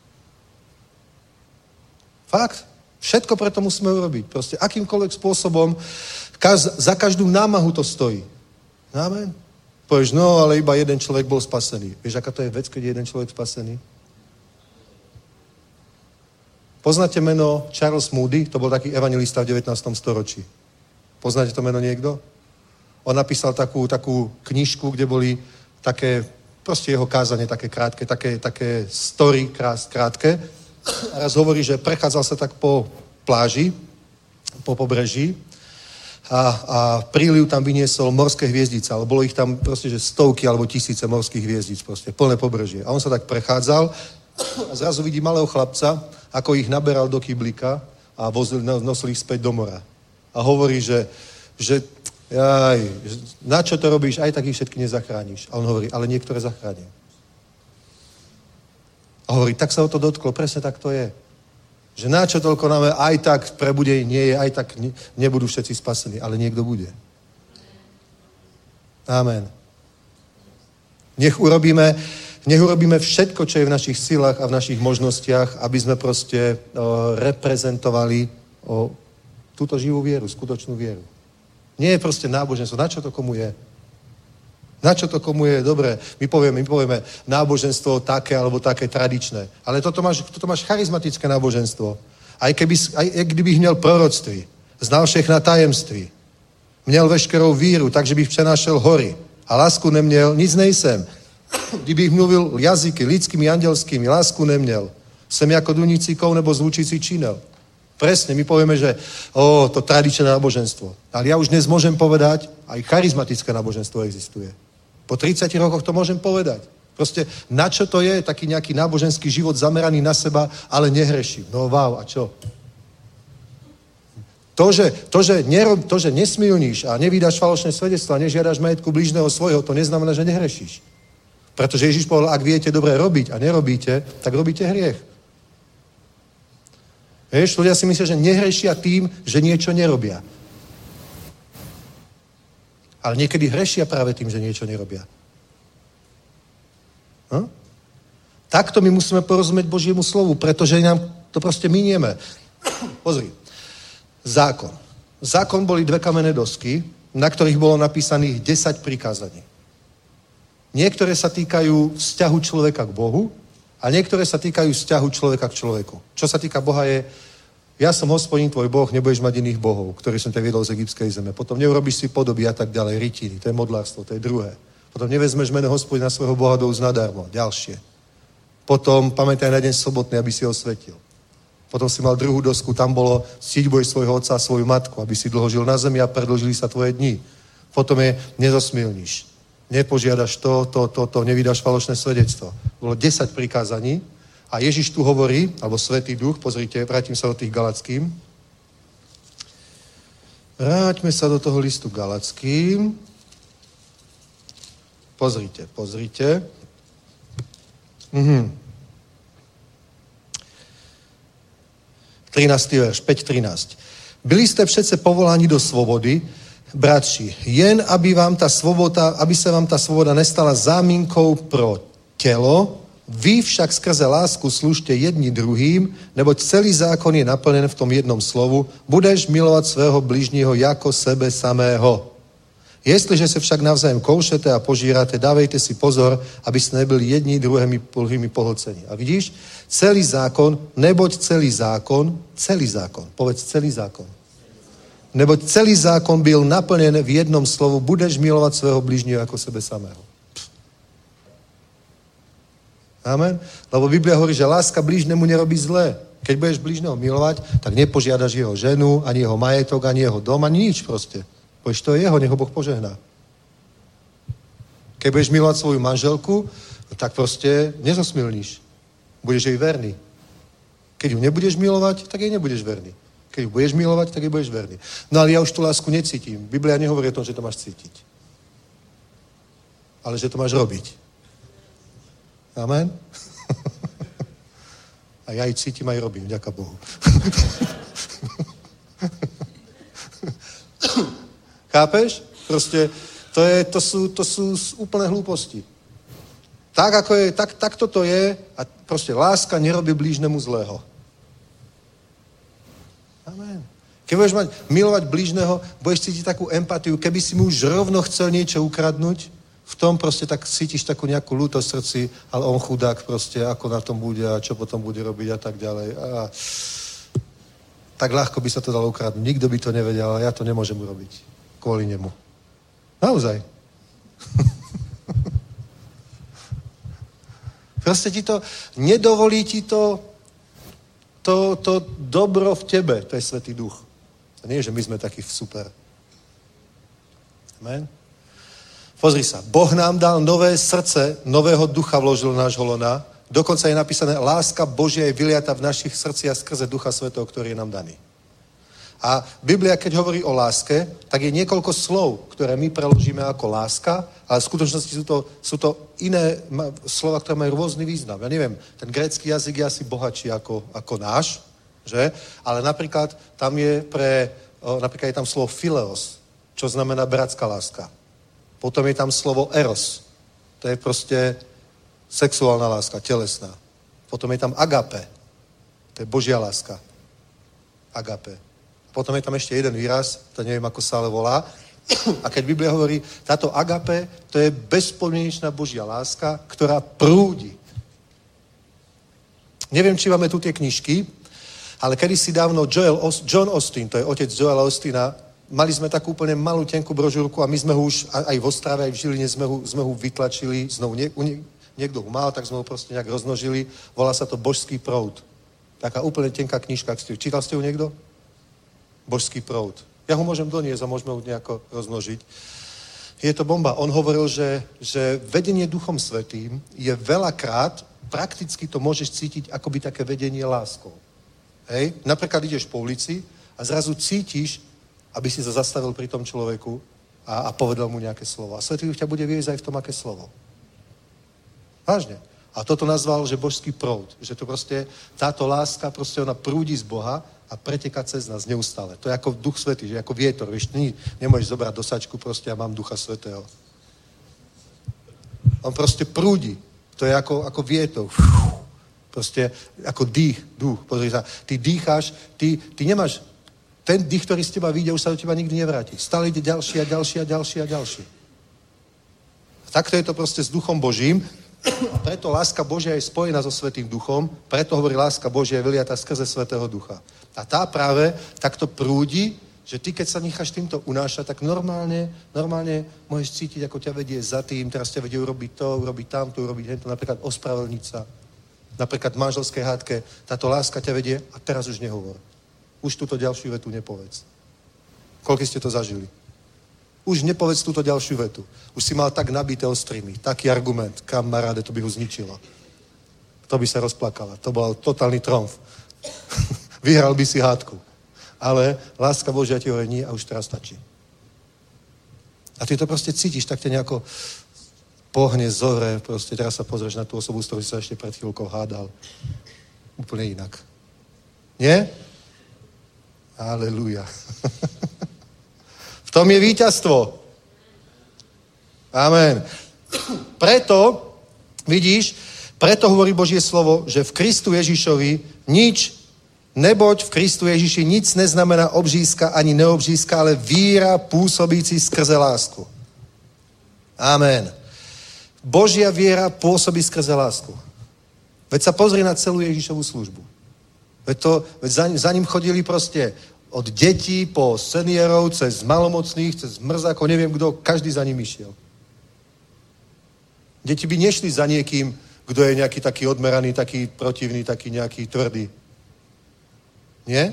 Fakt. Všetko preto musíme urobiť. Proste akýmkoľvek spôsobom, za každú námahu to stojí. Amen. Povieš, no, ale iba jeden človek bol spasený. Vieš, aká to je vec, keď je jeden človek spasený? Poznáte meno Charles Moody? To bol taký evangelista v 19. storočí. Poznáte to meno niekto? On napísal takú knižku, kde boli také, proste jeho kázanie také krátke, také story krátke. A raz hovorí, že prechádzal sa tak po pláži, po pobreží a príliv tam vyniesol morské hviezdice, ale bolo ich tam proste, že stovky alebo tisíce morských hviezdic, proste plné pobrežie. A on sa tak prechádzal a zrazu vidí malého chlapca, ako ich naberal do kyblíka a nosil ich späť do mora. A hovorí, že na čo to robíš, aj tak ich všetky nezachrániš. A on hovorí, ale niektoré zachránim. A hovorí, tak sa o to dotklo, presne tak to je. Že na čo toľko nám aj tak prebudenie nie je, aj tak nebudú všetci spasení, ale niekto bude. Amen. Nech urobíme všetko, čo je v našich silách a v našich možnostiach, aby sme proste reprezentovali túto živú vieru, skutočnú vieru. Nie je proste náboženstvo. Na čo to komu je? Na čo to komu je? Dobre, my povieme náboženstvo také alebo také tradičné. Ale toto máš charizmatické náboženstvo. Aj kdybych měl proroctví, znal všechna tajemství, měl veškerou víru, takže bych přenášel hory. A lásku neměl, nic nejsem. Kdybych mluvil jazyky lidskými, andělskými, lásku neměl. Jsem jako dunící kov nebo zvučící činel. Presne, my povieme, že to tradičné náboženstvo. Ale ja už dnes môžem povedať, aj charizmatické náboženstvo existuje. Po 30 rokoch to môžem povedať. Proste, na čo to je taký nejaký náboženský život zameraný na seba, ale nehreším. No wow, a čo? To, že nesmilníš a nevydáš falošné svedectvo a nežiadaš majetku blížneho svojho, to neznamená, že nehrešíš. Pretože Ježiš povedal, ak viete dobre robiť a nerobíte, tak robíte hriech. Vieš, ľudia si myslia, že nehrešia tým, že niečo nerobia. Ale niekedy hrešia práve tým, že niečo nerobia. No? Takto my musíme porozumieť Božiemu slovu, pretože nám to proste minieme. Pozri. Zákon. Zákon boli 2 kamenné dosky, na ktorých bolo napísaných 10 prikázaní. Niektoré sa týkajú vzťahu človeka k Bohu a niektoré sa týkajú vzťahu človeka k človeku. Čo sa týka Boha je, ja som Hospodin tvoj Boh, nebudeš mať iných bohov, ktorý som ťa viedol z egyptskej zeme. Potom neurobíš si podoby a tak ďalej, rytiny, to je modlárstvo, to je druhé. Potom nevezmeš meno Hospodina svojho Boha do úst nadarmo, ďalšie. Potom pamätaj na deň sobotný, aby si ho osvetil. Potom si mal druhú dosku, tam bolo ctiť budeš svojho otca a svoju matku, aby si dlho žil na zemi a predĺžili sa tvoje dni. Potom je nezosmilníš. Nepožiadaš to, nevydáš falošné svedectvo. Bolo 10 prikázaní a Ježiš tu hovorí, alebo Svätý Duch, pozrite, vrátim sa do tých Galackým. Vráťme sa do toho listu Galackým. Pozrite. 13. verš, 5.13. Byli ste přece povoláni do svobody, bratři, jen aby se vám ta svoboda nestala záminkou pro tělo, vy však skrze lásku služte jedni druhým, neboť celý zákon je naplněn v tom jednom slovu, budeš milovat svého bližního jako sebe samého. Jestliže se však navzájem koušete a požíráte, dávejte si pozor, abyste nebyli jedni druhými pohlceni. A vidíš, celý zákon, neboť celý zákon, povedz celý zákon. Neboť celý zákon byl naplněn v jednom slovu, budeš milovat svého blížního jako sebe samého. Amen. Lebo Biblia hovorí, že láska blížnemu nerobí zlé. Keď budeš blížneho milovať, tak nepožiadaš jeho ženu, ani jeho majetok, ani jeho dom, ani nič proste. Povieš, to je jeho, nech ho Boh požehná. Keď budeš milovať svoju manželku, tak proste nezosmilníš. Budeš jej verný. Keď ju nebudeš milovať, tak jej nebudeš verný. Keď ju budeš milovať, tak jej budeš verný. No ale ja už tú lásku necítim. Biblia nehovorí o tom, že to máš cítiť. Ale že to máš robiť. Amen? A ja ju cítim aj robím, ďaká Bohu. Chápeš? Proste to sú úplné hlúposti. Tak, ako je, tak toto je a proste láska nerobí blížnemu zlého. Amen. Keď budeš milovať blížneho, budeš cítiť takú empatiu, keby si mu už rovno chcel niečo ukradnúť, v tom proste tak cítiš takú nejakú ľútosť v srdci, ale on chudák proste, ako na tom bude a čo potom bude robiť a tak ďalej. A tak ľahko by sa to dalo ukradnúť. Nikto by to nevedel, ale ja to nemôžem urobiť. Kvôli nemu. Naozaj. Proste ti to, nedovolí ti to dobro v tebe, to je Svätý Duch. To nie je, že my sme takí super. Amen. Pozri sa, Boh nám dal nové srdce, nového ducha vložil do nášho lona, dokonca je napísané, láska Božia je vyliata v našich srdciach skrze Ducha Svätého, ktorý je nám daný. A Biblia, keď hovorí o láske, tak je niekoľko slov, ktoré my preložíme ako láska, ale v skutočnosti sú to iné slova, ktoré majú rôzny význam. Ja neviem, ten grécky jazyk je asi bohatší ako náš, že? Ale napríklad napríklad je tam slovo phileos, čo znamená bratská láska. Potom je tam slovo eros. To je proste sexuálna láska, telesná. Potom je tam agape. To je Božia láska. Agape. Potom je tam ešte jeden výraz, to neviem, ako sa ale volá. A keď Biblia hovorí, táto agape, to je bezpodmienečná Božia láska, ktorá prúdi. Neviem, či máme tu tie knižky, ale kedysi dávno John Austin, to je otec Joela Austina, mali sme takú úplne malú tenkú brožúrku a my sme ho už aj v Ostrave, aj v Žiline sme ho vytlačili, znovu niekto ho mal, tak sme ho proste nejak rozmnožili. Volá sa to Božský proud. Taká úplne tenká knižka. Čítal ste ju niekto? Božský proud. Ja ho môžem doniesť a môžeme ho nejako rozmnožiť. Je to bomba. On hovoril, že vedenie Duchom Svätým je veľakrát, prakticky to môžeš cítiť akoby také vedenie láskou. Hej? Napríklad ideš po ulici a zrazu cítiš, aby si sa zastavil pri tom človeku a povedal mu nejaké slovo. A Svätý Duch ťa bude viesť aj v tom, aké slovo. Vážne. A toto nazval, že Božský proud. Že to proste, táto láska, proste ona prúdi z Boha a preteká cez nás neustále. To je ako Duch Svätý, že ako vietor. Vieš, nemôžeš zobrať do sačku, proste ja mám Ducha Svätého. On proste prúdi. To je ako vietor. Proste ako duch. Pozri sa, ty dýcháš, ty nemáš ten dých, ktorý z teba vyjde, už sa do teba nikdy nevráti. Stále ide ďalší a ďalší a ďalší a ďalší. A takto je to proste s Duchom Božím. A preto láska Božia je spojená so Svätým Duchom, preto hovorí láska Božia je vyliata skrze Svätého Ducha. A tá práve takto prúdi, že ty, keď sa necháš týmto unášať, tak normálne môžeš cítiť, ako ťa vedie za tým, teraz ťa vedie urobiť to, urobiť tamto, urobiť hento, napríklad ospravedlniť sa. Napríklad v manželskej hádke, táto láska ťa vedie a teraz už nehovor. Už túto ďalšiu vetu nepovedz. Koľko ste to zažili? Už nepovedz túto ďalšiu vetu. Už si mal tak nabité ostrými. Taký argument, kamaráde, to by ho zničilo. To by sa rozplakala. To bol totálny tromf. Vyhral by si hádku. Ale láska Božia ti hovorí nie a už teraz stačí. A ty to proste cítiš, tak te nejako pohne, zore, proste teraz sa pozrieš na tú osobu, s ktorou si sa ešte pred chvíľkou hádal. Úplne inak. Nie? Aleluja. V tom je víťazstvo. Amen. Preto, vidíš, preto hovorí Božie slovo, že v Kristu Ježišovi neboť v Kristu Ježiši nic neznamená obřízka ani neobřízka, ale víra pôsobící skrze lásku. Amen. Božia viera pôsobí skrze lásku. Veď sa pozri na celú Ježišovú službu. Veď za ním chodili proste od detí po seniorov, cez malomocných, cez mrzákov, neviem kto, každý za ním išiel. Deti by nešli za niekým, kto je nejaký taký odmeraný, taký protivný, taký nejaký tvrdý. Nie?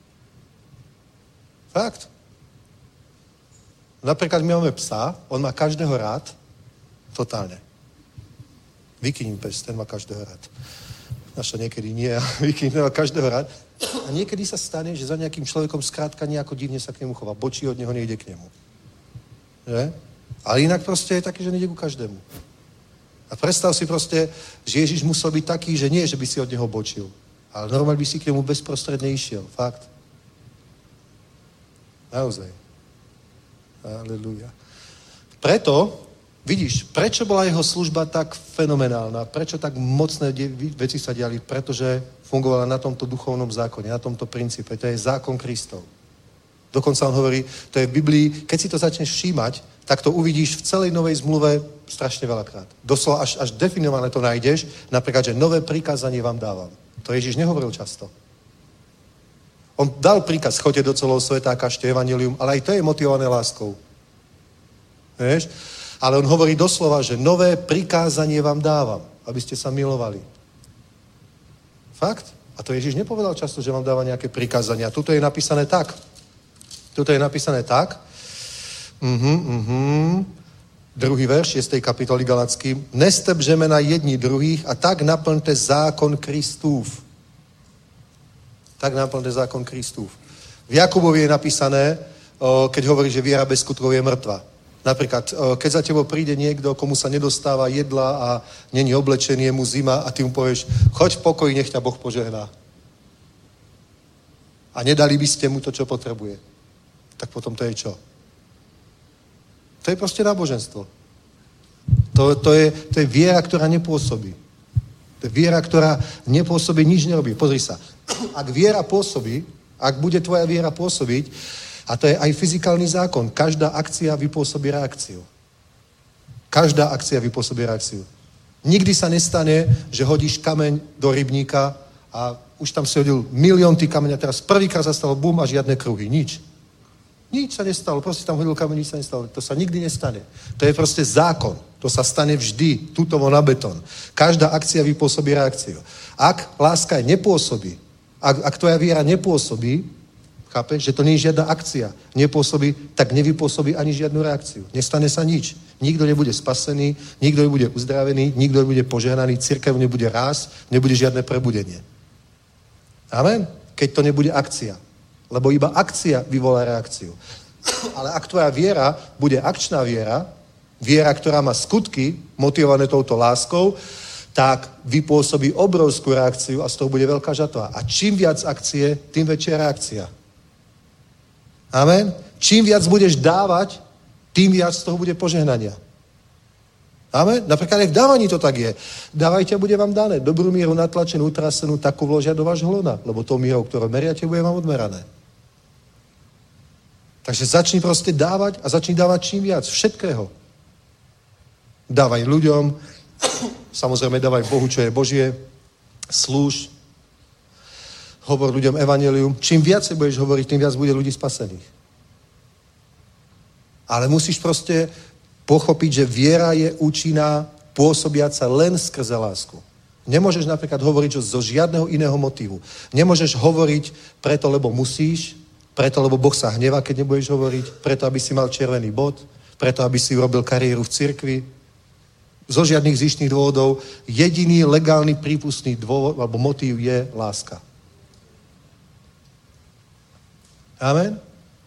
Fakt. Napríklad my máme psa, on má každého rád, totálne. Vykyním pes, ten má každého rád. Naša niekedy nie, a Vykyním má každého rád. A niekedy sa stane, že za nejakým človekom skrátka nejako divne sa k nemu chová. Bočí od neho, nejde k nemu. Že? Ale inak proste je taký, že nejde ku každému. A predstav si proste, že Ježiš musel byť taký, že nie, že by si od neho bočil. Ale normálne by si k nemu bezprostredne išiel. Fakt. Naozaj. Aleluja. Preto, vidíš, prečo bola jeho služba tak fenomenálna? Prečo tak mocné veci sa diali? Pretože fungovala na tomto duchovnom zákone, na tomto princípe. To je zákon Kristov. Dokonca on hovorí, to je v Biblii, keď si to začneš všímať, tak to uvidíš v celej novej zmluve strašne veľakrát. Doslova až definované to nájdeš, napríklad, že nové prikázanie vám dávam. To Ježiš nehovoril často. On dal príkaz, choďte do celého sveta a kažte evanjelium, ale aj to je motivované láskou. Vieš? Ale on hovorí doslova, že nové prikázanie vám dávam, aby ste sa milovali. Fakt? A to Ježiš nepovedal často, že vám dáva nejaké prikázania. Tuto je napísané tak. Druhý verš 6. kapitoly Galackým. Neste břemena jedni druhých a tak naplňte zákon Kristův. Tak naplňte zákon Kristův. V Jakubovi je napísané, keď hovorí, že viera bez skutkov je mŕtva. Napríklad, keď za tebou príde niekto, komu sa nedostáva jedla a není oblečený, je mu zima a ty mu povieš, choď v pokoji, nech ťa Boh požehná. A nedali by ste mu to, čo potrebuje. Tak potom to je čo? To je proste náboženstvo. To je viera, ktorá nepôsobí. To je viera, ktorá nepôsobí, nič nerobí. Pozri sa. Ak viera pôsobí, ak bude tvoja viera pôsobiť, a to je aj fyzikálny zákon, každá akcia vypôsobí reakciu. Každá akcia vypôsobí reakciu. Nikdy sa nestane, že hodíš kameň do rybníka a už tam si hodil milión tých kameň a teraz prvýkrát sa stalo bum a žiadne kruhy. Nič. Nič sa nestalo, proste tam hodil kameň, nič sa nestalo. To sa nikdy nestane. To je proste zákon. To sa stane vždy, tutovo na betón. Každá akcia vypôsobí reakciu. Ak láska nepôsobí, ak tvoja viera nepôsobí, chápeš, že to nie je žiadna akcia, nepôsobí, tak nevypôsobí ani žiadnu reakciu. Nestane sa nič. Nikto nebude spasený, nikto nebude uzdravený, nikto nebude požehnaný, cirkev nebude rásť, nebude žiadne prebudenie. Amen? Keď to nebude akcia. Lebo iba akcia vyvolá reakciu. Ale ak tvoja viera bude akčná viera, viera, ktorá má skutky, motivované touto láskou, tak vypôsobí obrovskú reakciu a z toho bude veľká žatva. A čím viac akcie, tým väčšia reakcia. Amen? Čím viac budeš dávať, tým viac z toho bude požehnania. Amen? Napríklad aj v dávaní to tak je. Dávajte a bude vám dané. Dobrú míru natlačenú, utrasenú, takú vložia do vášho hlona, lebo tou mírou, ktorú meriate, bude vám odmerané. Takže začni proste dávať a začni dávať čím viac. Všetkého. Dávaj ľuďom, samozrejme dávaj Bohu, čo je Božie, slúž, hovor ľuďom evanjelium. Čím viacej budeš hovoriť, tým viac bude ľudí spasených. Ale musíš proste pochopiť, že viera je účinná, pôsobiaca len skrze lásku. Nemôžeš napríklad hovoriť zo žiadneho iného motívu. Nemôžeš hovoriť preto, lebo musíš, preto, lebo Boh sa hnevá, keď nebudeš hovoriť, preto, aby si mal červený bod, preto, aby si urobil kariéru v cirkvi. Zo žiadnych zištných dôvodov. Jediný legálny prípustný dôvod alebo motív je láska. Amen?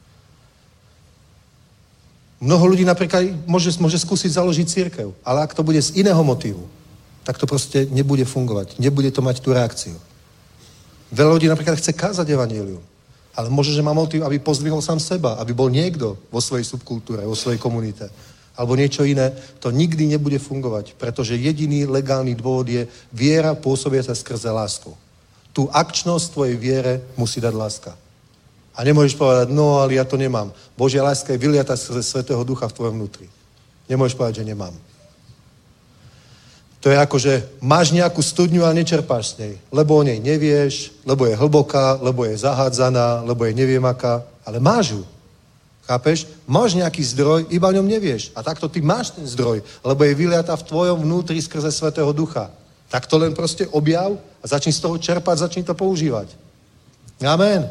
Mnoho ľudí napríklad môže skúsiť založiť cirkev, ale ak to bude z iného motívu, tak to proste nebude fungovať. Nebude to mať tú reakciu. Veľa ľudí napríklad chce kázať evanjelium, ale môže, že má motív, aby pozdvihol sám seba, aby bol niekto vo svojej subkultúre, vo svojej komunite, alebo niečo iné. To nikdy nebude fungovať, pretože jediný legálny dôvod je viera pôsobiaca skrze lásku. Tú akčnosť tvojej viere musí dať láska. A nemôžeš povedať, no ale ja to nemám. Božia láska je vyliata skrze Svätého Ducha v tvojom vnútri. Nemôžeš povedať, že nemám. To je ako, že máš nejakú studňu a nečerpáš z nej, lebo o nej nevieš, lebo je hlboká, lebo je zahádzaná, lebo je neviem aká, ale máš ju. Chápeš? Máš nejaký zdroj, iba o ňom nevieš. A takto ty máš ten zdroj, lebo je vyliatá v tvojom vnútri skrze Svätého Ducha. Tak to len proste objav a začni z toho čerpať, začni to používať. Amen.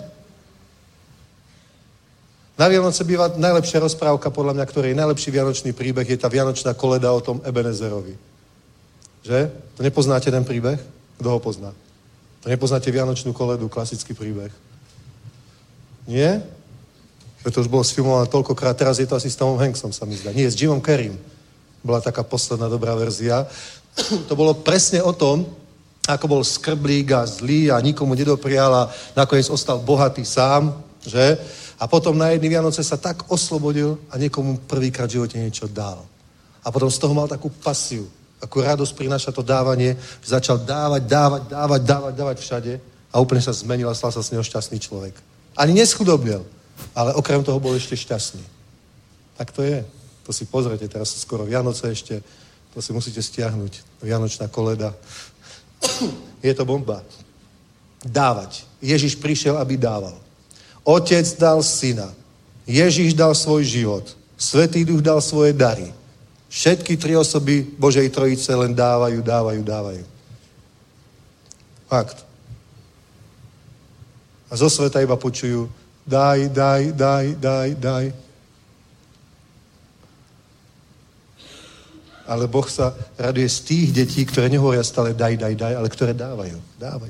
Na Vianoce býva najlepšia rozprávka, podľa mňa, ktorej je najlepší vianočný príbeh, je tá vianočná koleda o tom Ebenezerovi. Že? To nepoznáte ten príbeh? Kto ho pozná? To nepoznáte vianočnú koledu, klasický príbeh? Nie? To už bolo sfilmované toľkokrát, teraz je to asi s Tomom Hanksom, sa mi zdá. Nie, s Jimom Carreym. Bola taká posledná dobrá verzia. To bolo presne o tom, ako bol skrblík a zlý a nikomu nedoprial a nakoniec ostal bohatý sám, že? A potom na jedný Vianoce sa tak oslobodil a niekomu prvýkrát v živote niečo dal. A potom z toho mal takú pasiu, akú radosť prináša to dávanie, že začal dávať všade a úplne sa zmenil a stal sa z neho šťastný človek. Ani neschudobnil, ale okrem toho bol ešte šťastný. Tak to je. To si pozrite, teraz sú skoro Vianoce ešte, to si musíte stiahnuť. Vianočná koleda. Je to bomba. Dávať. Ježiš prišiel, aby dával. Otec dal syna. Ježiš dal svoj život. Svätý Duch dal svoje dary. Všetky tri osoby Božej Trojice len dávajú. Fakt. A zo sveta iba počujú daj. Ale Boh sa raduje z tých detí, ktoré nehovoria stále daj, ale ktoré dávajú. Dávajú.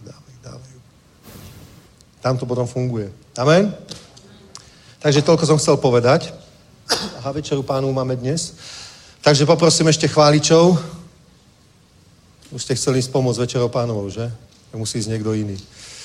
Tam to potom funguje. Amen? Takže toľko som chcel povedať. Aha, večeru Pánu máme dnes. Takže poprosím ešte chváličov. Už ste chceli ísť pomôcť večerou Pánovou, že? Musí ísť niekto iný.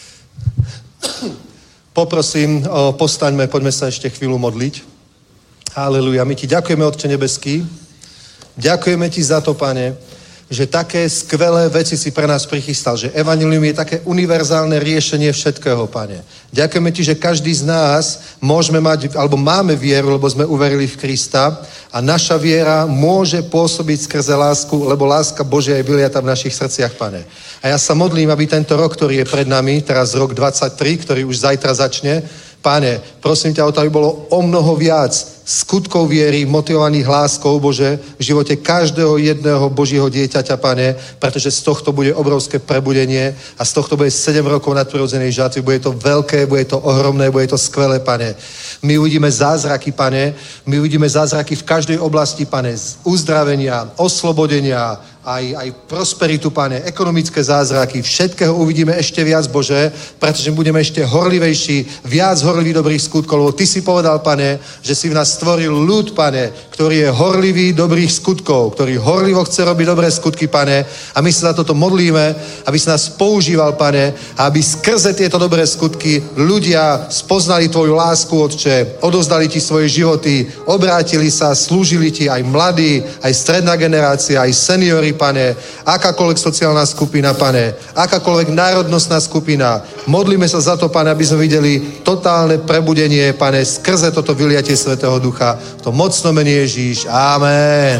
Poprosím, postaňme, poďme sa ešte chvíľu modliť. Haleluja. My ti ďakujeme, Otče nebeský. Ďakujeme ti za to, Pane, že také skvelé veci si pre nás prichystal, že evanjelium je také univerzálne riešenie všetkého, Pane. Ďakujeme ti, že každý z nás môžeme mať, alebo máme vieru, lebo sme uverili v Krista a naša viera môže pôsobiť skrze lásku, lebo láska Božia je vyliata v našich srdciach, Pane. A ja sa modlím, aby tento rok, ktorý je pred nami, teraz rok 23, ktorý už zajtra začne, Pane, prosím ťa o to, aby bolo o mnoho viac skutkov viery, motivovaných láskou, Bože, v živote každého jedného Božieho dieťaťa, Pane, pretože z tohto bude obrovské prebudenie a z tohto bude 7 rokov nadprirodzenej žatvy. Bude to veľké, bude to ohromné, bude to skvelé, Pane. My uvidíme zázraky, Pane, my uvidíme zázraky v každej oblasti, Pane, z uzdravenia, oslobodenia, aj prosperitu, Pane, ekonomické zázraky, všetkého uvidíme ešte viac, Bože, pretože budeme ešte horlivejší, viac horlivý dobrých skutkov, lebo Ty si povedal, Pane, že si v nás stvoril ľud, Pane, ktorý je horlivý dobrých skutkov, ktorý horlivo chce robiť dobré skutky, Pane, a my sa za toto modlíme, aby si nás používal, Pane, a aby skrze tieto dobré skutky ľudia spoznali Tvoju lásku, Otče, odovzdali Ti svoje životy, obrátili sa, slúžili Ti aj mladí, aj stredná generácia, aj seniori, Pane, akákoľvek sociálna skupina, Pane, akákoľvek národnostná skupina. Modlíme sa za to, Pane, aby sme videli totálne prebudenie, Pane, skrze toto vyliatie Svätého Ducha. To mocno mene Ježíš. Amen.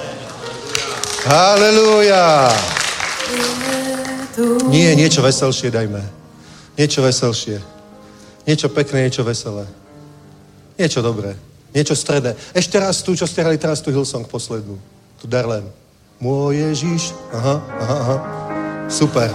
Halelúja. Nie, niečo veselšie dajme. Niečo veselšie. Niečo pekné, niečo veselé. Niečo dobré. Niečo stredné. Ešte raz tu, čo ste hrali teraz tu Hillsong poslednú. Tu Darlene. Môj Ježíš. Aha. Super.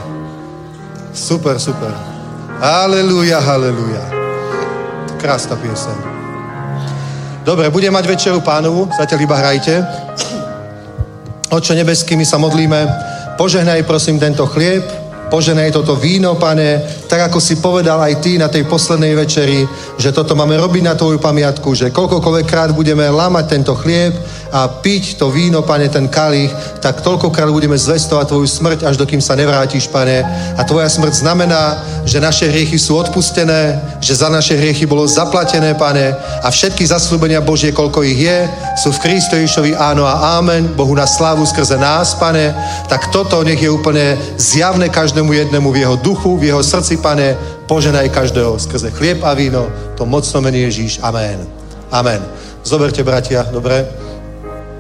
Halelúja. Krásna pieseň. Dobre, budem mať večeru Pánovu. Zatiaľ iba hrajte. Otče nebeský, my sa modlíme. Požehnaj, prosím, tento chlieb. Požehnaj toto víno, Pane. Tak, ako si povedal aj Ty na tej poslednej večeri, že toto máme robiť na Tvoju pamiatku, že koľkokoľvek krát budeme lámať tento chlieb a piť to víno, Pane, ten kalich, tak toľkokrát budeme zvestovať Tvoju smrť, až dokým sa nevrátiš, Pane. A Tvoja smrť znamená, že naše hriechy sú odpustené, že za naše hriechy bolo zaplatené, Pane. A všetky zasľúbenia Božie, koľko ich je, sú v Kristu Ježišovi áno a ámen. Bohu na slávu skrze nás, Pane. Tak toto nech je úplne zjavné každému jednému v jeho duchu, v jeho srdci, Pane. Poženaj každého skrze chlieb a víno. To mocno mene Ježíš. Amen. Zoberte, bratia, dobre?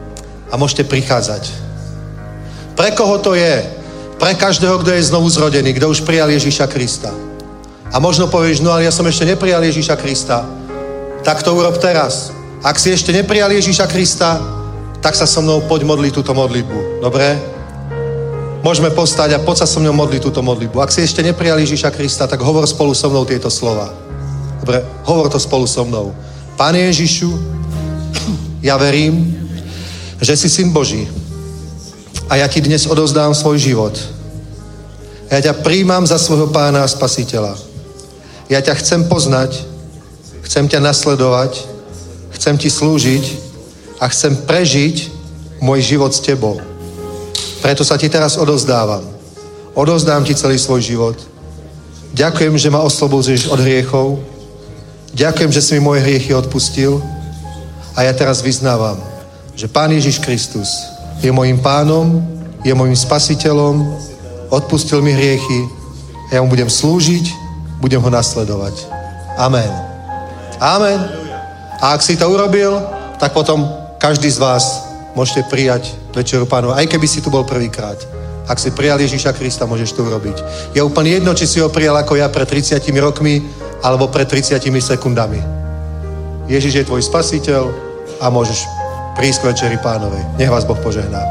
a môžete prichádzať. Pre koho to je? Pre každého, kto je znovu zrodený, kto už prijal Ježíša Krista. A možno povieš, no ale ja som ešte neprijal Ježíša Krista. Tak to urob teraz. Ak si ešte neprijal Ježíša Krista, tak sa so mnou poď modliť túto modlitbu. Dobre? Môžeme postať a poď sa so mnou modliť túto modlitbu. Ak si ešte neprijal Ježíša Krista, tak hovor spolu so mnou tieto slova. Dobre? Hovor to spolu so mnou. Pane Ježišu, ja verím, že si Syn Boží. A ja ti dnes odovzdám svoj život. Ja ťa prijímam za svojho Pána a Spasiteľa. Ja ťa chcem poznať, chcem ťa nasledovať, chcem ti slúžiť a chcem prežiť môj život s tebou. Preto sa ti teraz odovzdávam. Odovzdám ti celý svoj život. Ďakujem, že ma oslobodíš od hriechov. Ďakujem, že si mi moje hriechy odpustil. A ja teraz vyznávam, že Pán Ježiš Kristus je mojím Pánom, je mojím Spasiteľom, odpustil mi hriechy a ja mu budem slúžiť, budem ho nasledovať. Amen. Amen. A ak si to urobil, tak potom každý z vás môžete prijať Večeru Pánova, aj keby si tu bol prvýkrát. Ak si prijal Ježíša Krista, môžeš to urobiť. Je úplne jedno, či si ho prijal ako ja pred 30 rokmi, alebo pred 30 sekundami. Ježíš je tvoj Spasiteľ a môžeš prísť k Večeri Pánovej. Nech vás Boh požehná.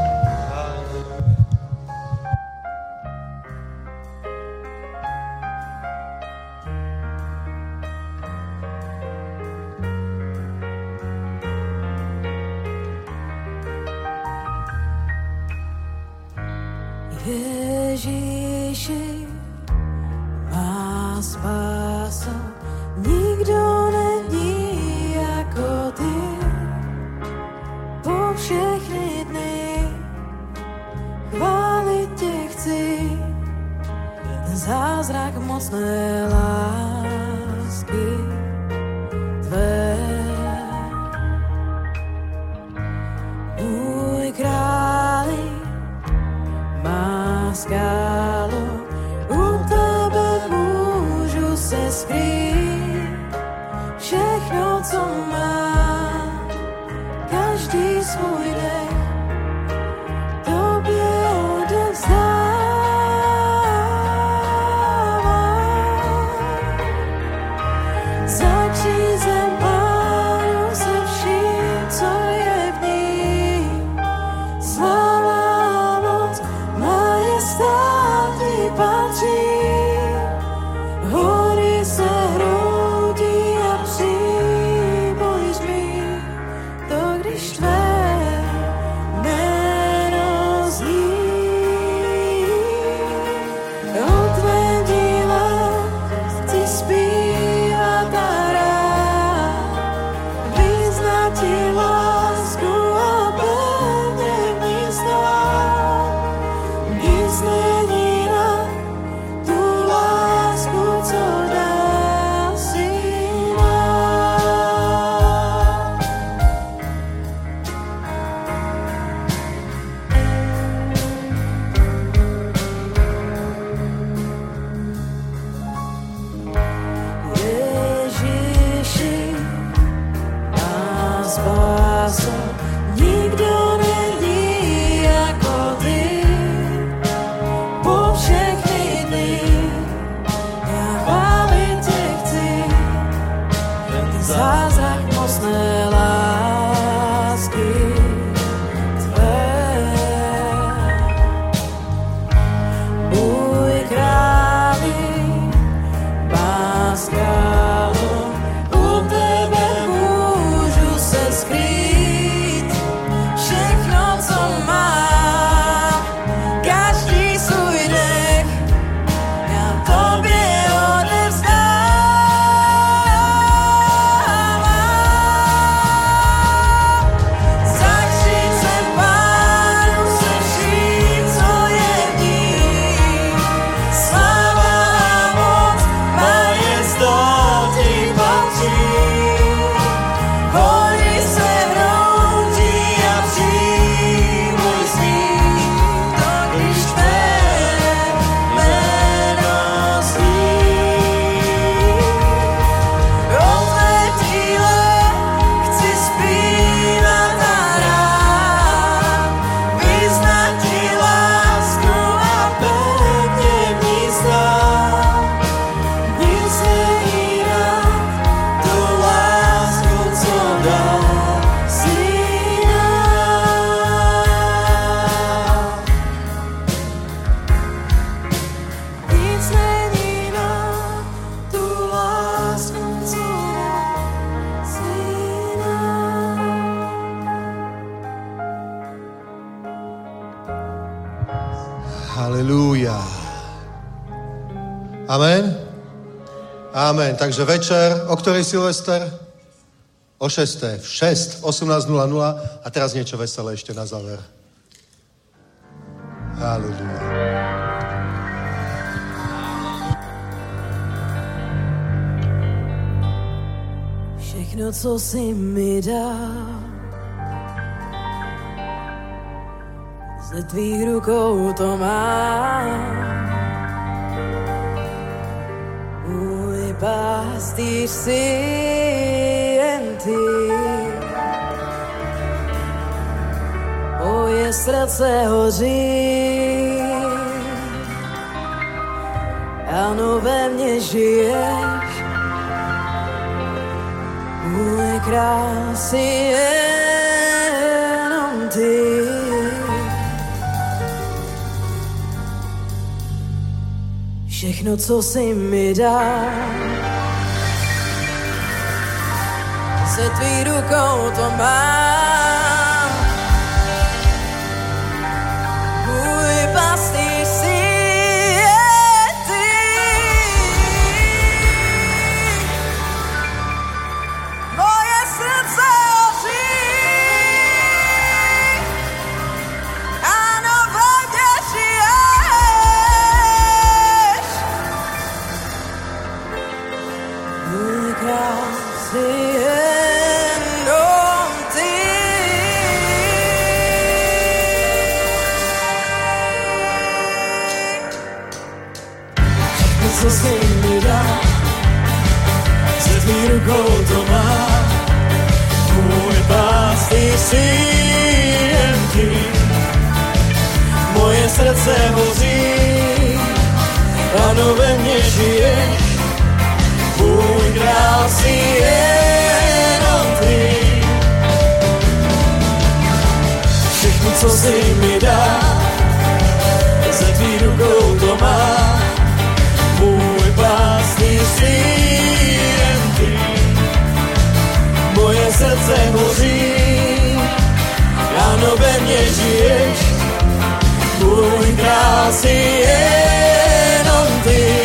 Ježíši, má spása, nikdo není jako ty. Po všechny dny chválit tě chci, ten zázrak mocné lásky tvé. Můj králi, má skálo, u tebe můžu se skrýt. Všechno, co mám, každý svůj dech tobě odevzdávám. Za křížem Pánu se vším, co je v ní. Sláva, moc, majestát ti patří. Hory se hroutí a přibojíš mi to, když tvé jméno zní. O tvém díle chci zpívat a rád, vyznat ti lásku a pevně v ní stát. Nic není nad tu lásku, co dal si nám. Ježíši, má spása, nikdo není jako ty. Po všechny dny já chválit tě chci, ten zázrak mocné lásky tvé. Můj králi, má skálo, u tebe můžu se skrýt. Všechno, Halelúja. Amen. Amen. Takže večer, o ktorej Silvester? O 6. V 18:00 a teraz niečo veselé ešte na záver. Halelúja. Všechno, co si mi dal, ze tvých rukou to mám. Můj pastýř si jen ty, moje srdce hoří, ano, ve mně žiješ, můj krásy jenom ty. Všechno, co si mi dal, se tvý rukou to mám. Můj pastýř si je ty, moje srdce hoří, ano, vodě žiješ, můj krásy jenom ty. Všechno, co jsi mi dal, se tvý rukou to má. Můj pastýř si jen ty, moje srdce hoří, ano, ve mně žiješ, můj král si jenom ty. Všechno, co si mi dal, ze tvý rukou to má. Můj pastýř si jen ty, moje srdce hoří, ano, ve mně žiješ, můj král si jenom ty.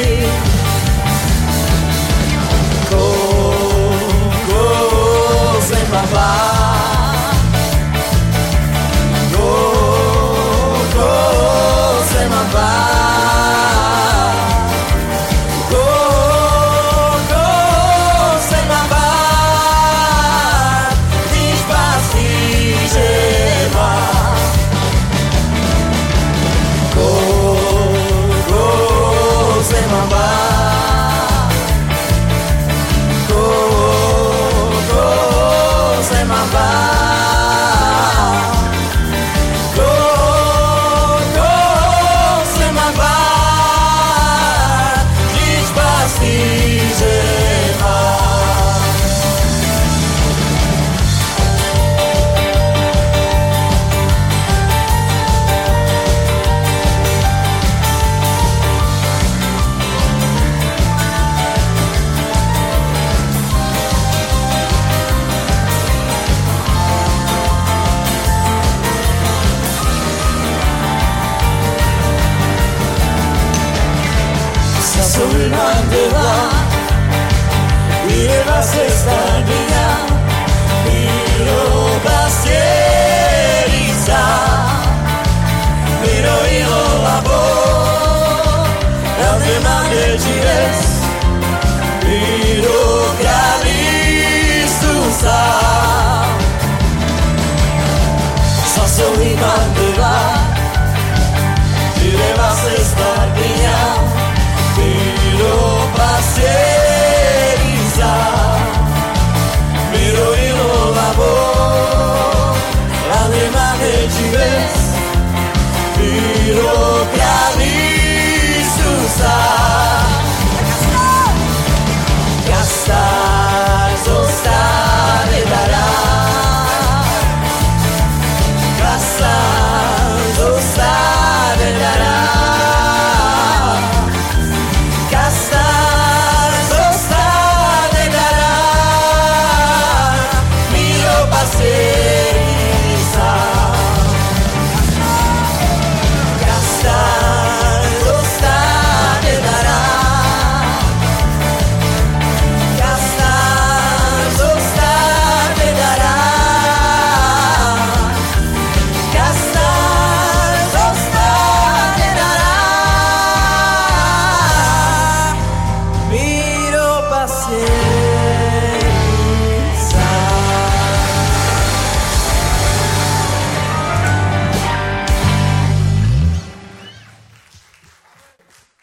Yeah.